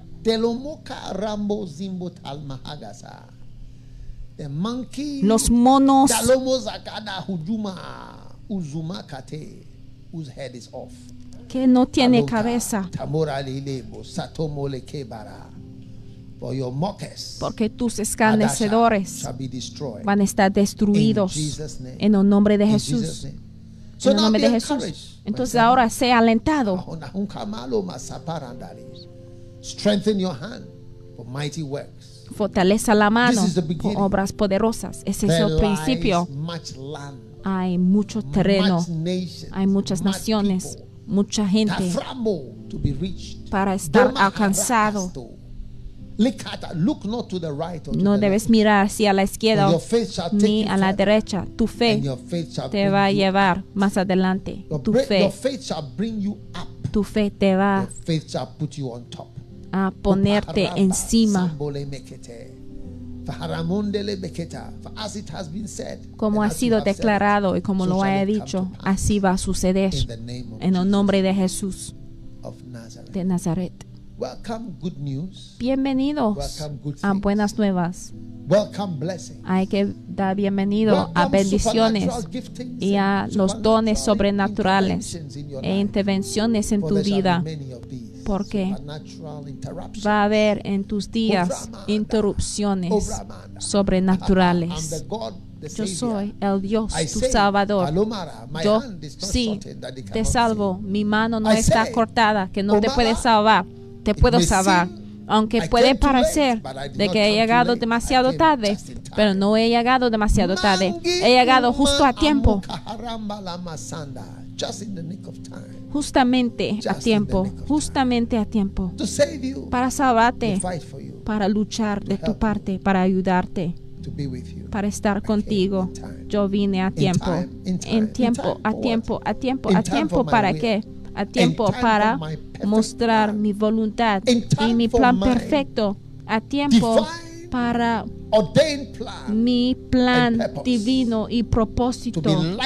Los monos que no tiene cabeza, porque tus escarnecedores van a estar destruidos en el nombre de Jesús. En el nombre de Jesús. Entonces ahora sea alentado. Fortaleza la mano por obras poderosas. Ese es el principio. Hay mucho terreno, hay muchas naciones, mucha gente para estar alcanzado. No debes mirar hacia la izquierda ni a la derecha. Tu fe te va a llevar más adelante. Tu fe te va a ponerte encima. Como ha sido declarado y como lo haya dicho, así va a suceder en el nombre de Jesús de Nazaret. Bienvenidos a buenas nuevas. Hay que dar bienvenido a bendiciones y a los dones sobrenaturales e intervenciones en tu vida, porque va a haber en tus días interrupciones sobrenaturales. Yo soy el Dios, tu Salvador. Yo sí te salvo. Mi mano no está cortada, que no te puede salvar. Te puedo salvar. Aunque puede parecer de que he llegado demasiado tarde, pero no he llegado demasiado tarde. He llegado justo a tiempo. Justamente a tiempo. Justamente a tiempo. Para salvarte, para luchar de tu parte, para ayudarte, para estar contigo. Yo vine a tiempo. En tiempo, a tiempo, a tiempo, a tiempo. ¿Para qué? A tiempo para mostrar mi voluntad y mi plan perfecto. A tiempo para mi plan divino y propósito,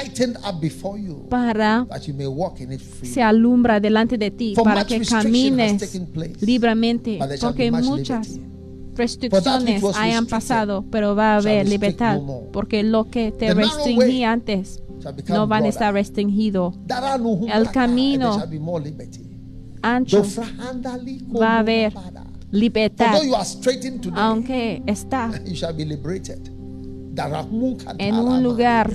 para se alumbra delante de ti, para que camines libremente, porque muchas restricciones hayan pasado, pero va a haber libertad, porque lo que te restringía antes no van a estar restringidos. El camino ancho va a haber libertad, aunque está en un lugar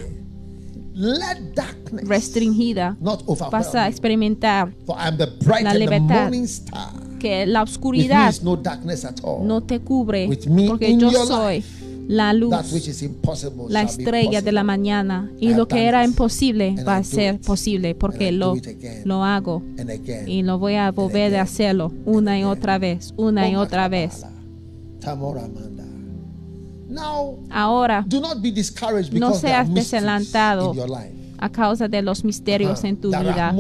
restringida. Vas a experimentar la libertad, que la oscuridad no te cubre, porque yo soy la luz, la estrella de la mañana, y lo que era imposible va a ser posible, porque lo hago y lo voy a volver a hacerlo una y otra vez, una y otra vez. Ahora, no seas desalentado a causa de los misterios en tu vida.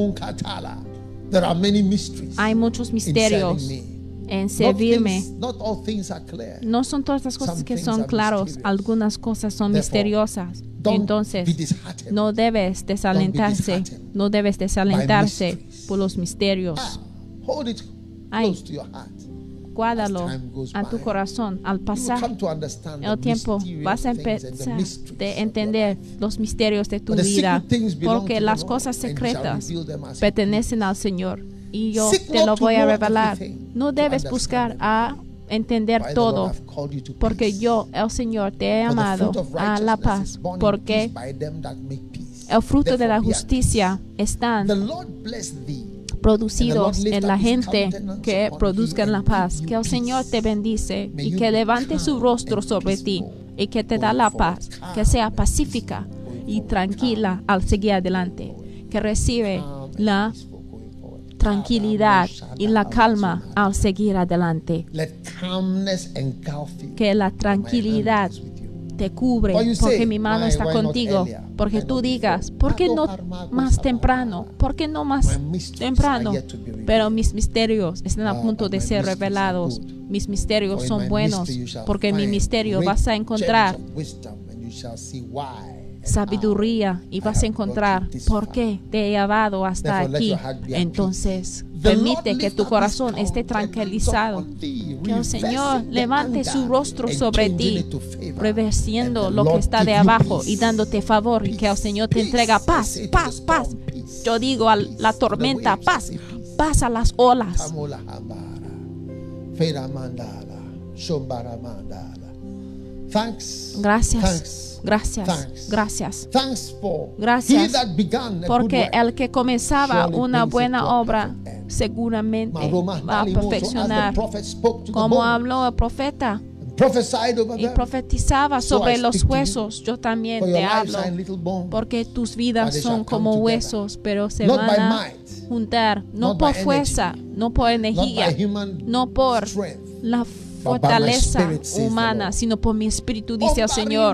Hay muchos misterios en servirme. No son todas las cosas que son claros, algunas cosas son misteriosas. Entonces, no debes desalentarse, por los misterios. Ay, guárdalo a tu corazón. Al pasar el tiempo, vas a empezar a entender los misterios de tu vida, porque las cosas secretas pertenecen al Señor, y yo te lo voy a revelar. No debes buscar a entender todo, porque yo, el Señor, te he llamado a la paz, porque el fruto de la justicia están producidos en la gente que produzcan la paz. Que el Señor te bendice y que levante su rostro sobre ti y que te da la paz, que sea pacífica y tranquila al seguir adelante, que recibe la tranquilidad y la calma al seguir adelante, que la tranquilidad te cubre, porque mi mano está contigo. Porque tú digas, ¿por qué no más temprano? ¿Por qué no más temprano? Pero mis misterios están a punto de ser revelados. Mis misterios son buenos, porque mi misterio vas a encontrar sabiduría y vas a encontrar por qué te he llevado hasta aquí. Entonces, permite que tu corazón esté tranquilizado, que el Señor levante su rostro sobre ti, reversiendo lo que está de abajo y dándote favor, y que el Señor te entrega paz, paz, paz. Yo digo a la tormenta, paz, paz a las olas. Gracias. Gracias, gracias. Gracias, porque el que comenzaba una buena obra seguramente va a perfeccionar. Como habló el profeta y profetizaba sobre los huesos, yo también te hablo, porque tus vidas son como huesos, pero se van a juntar, no por fuerza, no por energía, no por la fortaleza humana, sino por mi espíritu, dice el Señor.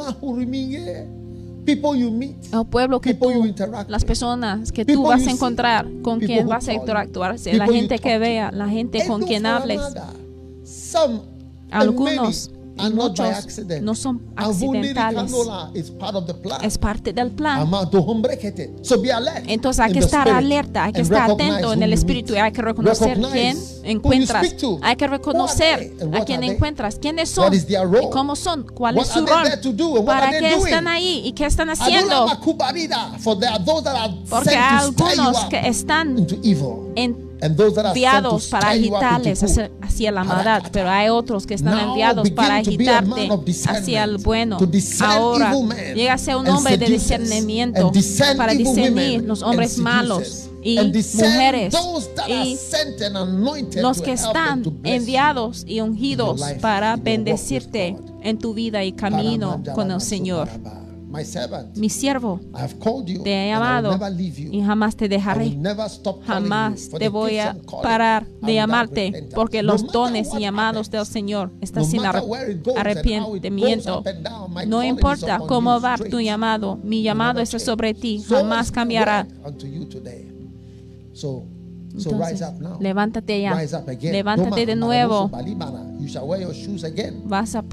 El pueblo que tú, las personas que tú vas a encontrar, con quien vas a interactuar, la gente que vea, la gente con quien hables. Algunos And not by muchos accident. no son And Vundiri accidentales. Kandola is part of the plan. Es parte del plan. So be alert. Entonces hay que estar alerta, hay que estar atento en el espíritu y hay que reconocer quién encuentras. Hay que reconocer a quién encuentras, quiénes son y cómo son, cuál es su rol, para qué están ahí y qué están haciendo. Porque hay algunos que están enviados para agitarles hacia la maldad, pero hay otros que están enviados para agitarte hacia el bueno. Ahora llega a ser un hombre de discernimiento para discernir los hombres malos y mujeres y los que están enviados y ungidos para bendecirte en tu vida y camino con el Señor. Mi siervo, te he llamado y jamás te dejaré. Jamás te voy a parar de llamarte, porque los dones y llamados del Señor están sin arrepentimiento. No importa cómo va tu llamado, mi llamado está sobre ti, jamás cambiará. Entonces, levántate ya, levántate de nuevo. Vas a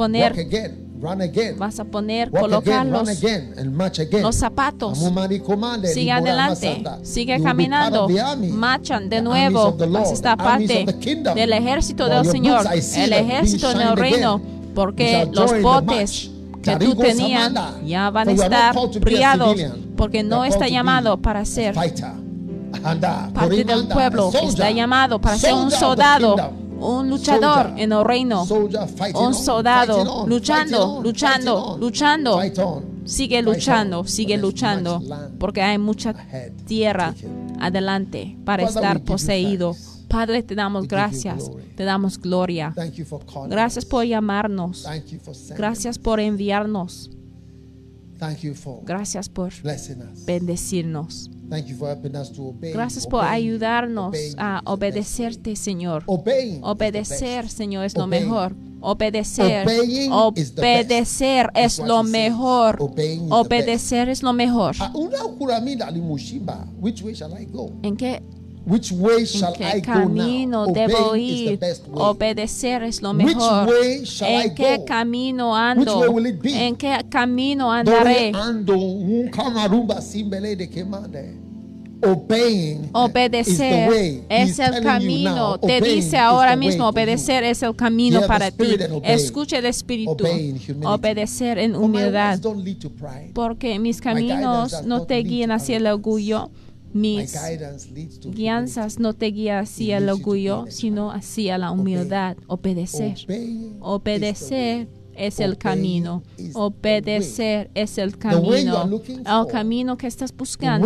poner, colocar los zapatos. Sigue adelante, sigue caminando, marchan de nuevo. Vas a estar parte del ejército del Señor, el ejército del reino, porque los botes que tú tenías ya van a estar brillados, porque no está llamado para ser parte del pueblo, está llamado para ser un soldado, un luchador en el reino, un soldado luchando. Sigue luchando, porque hay mucha tierra adelante para estar poseído. Padre, te damos gracias, te damos gloria. Gracias por llamarnos, gracias por enviarnos, gracias por bendecirnos. Gracias por ayudarnos a obedecerte, Señor. Obedecer, Señor, es lo mejor. Obedecer es lo mejor. Obedecer es lo mejor. ¿En qué camino debo ir? Obedecer es lo mejor. ¿En qué camino ando? ¿En qué camino andaré? Obedecer es el camino. Te dice ahora mismo, obedecer es el camino para ti. Escucha el Espíritu. Obedecer en humildad. Porque mis caminos no te guían hacia el orgullo. Mis guianzas no te guían hacia el orgullo, sino hacia la humildad. Obedecer es el camino. Obedecer es el camino. El camino que estás buscando,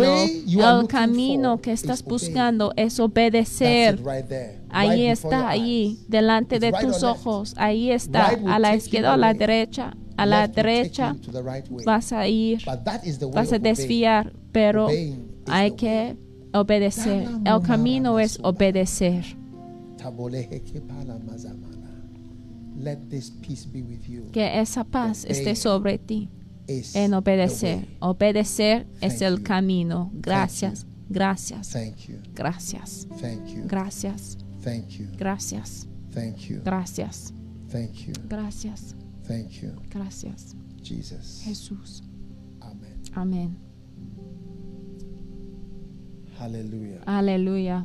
es obedecer. Ahí está, ahí, delante de tus ojos. Ahí está, a la izquierda o a la derecha. A la derecha vas a ir, vas a desviar, pero hay que obedecer. El camino es obedecer. Que esa paz esté sobre ti en obedecer. Obedecer es el camino. Gracias, gracias, gracias, gracias, gracias, gracias, gracias, gracias. Jesús. Amén. Aleluya. Aleluya.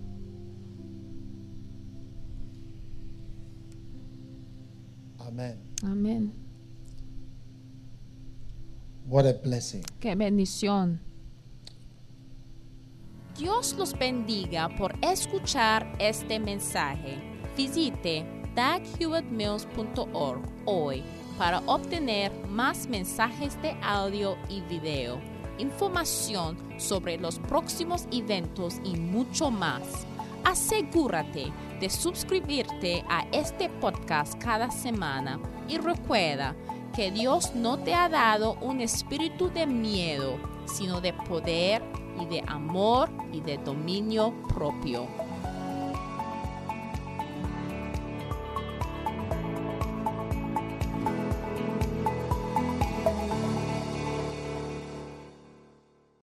Amén. Amén. What a blessing. Qué bendición. Dios los bendiga por escuchar este mensaje. Visite daghewittmills.org hoy para obtener más mensajes de audio y video, información sobre los próximos eventos y mucho más. Asegúrate de suscribirte a este podcast cada semana y recuerda que Dios no te ha dado un espíritu de miedo, sino de poder y de amor y de dominio propio.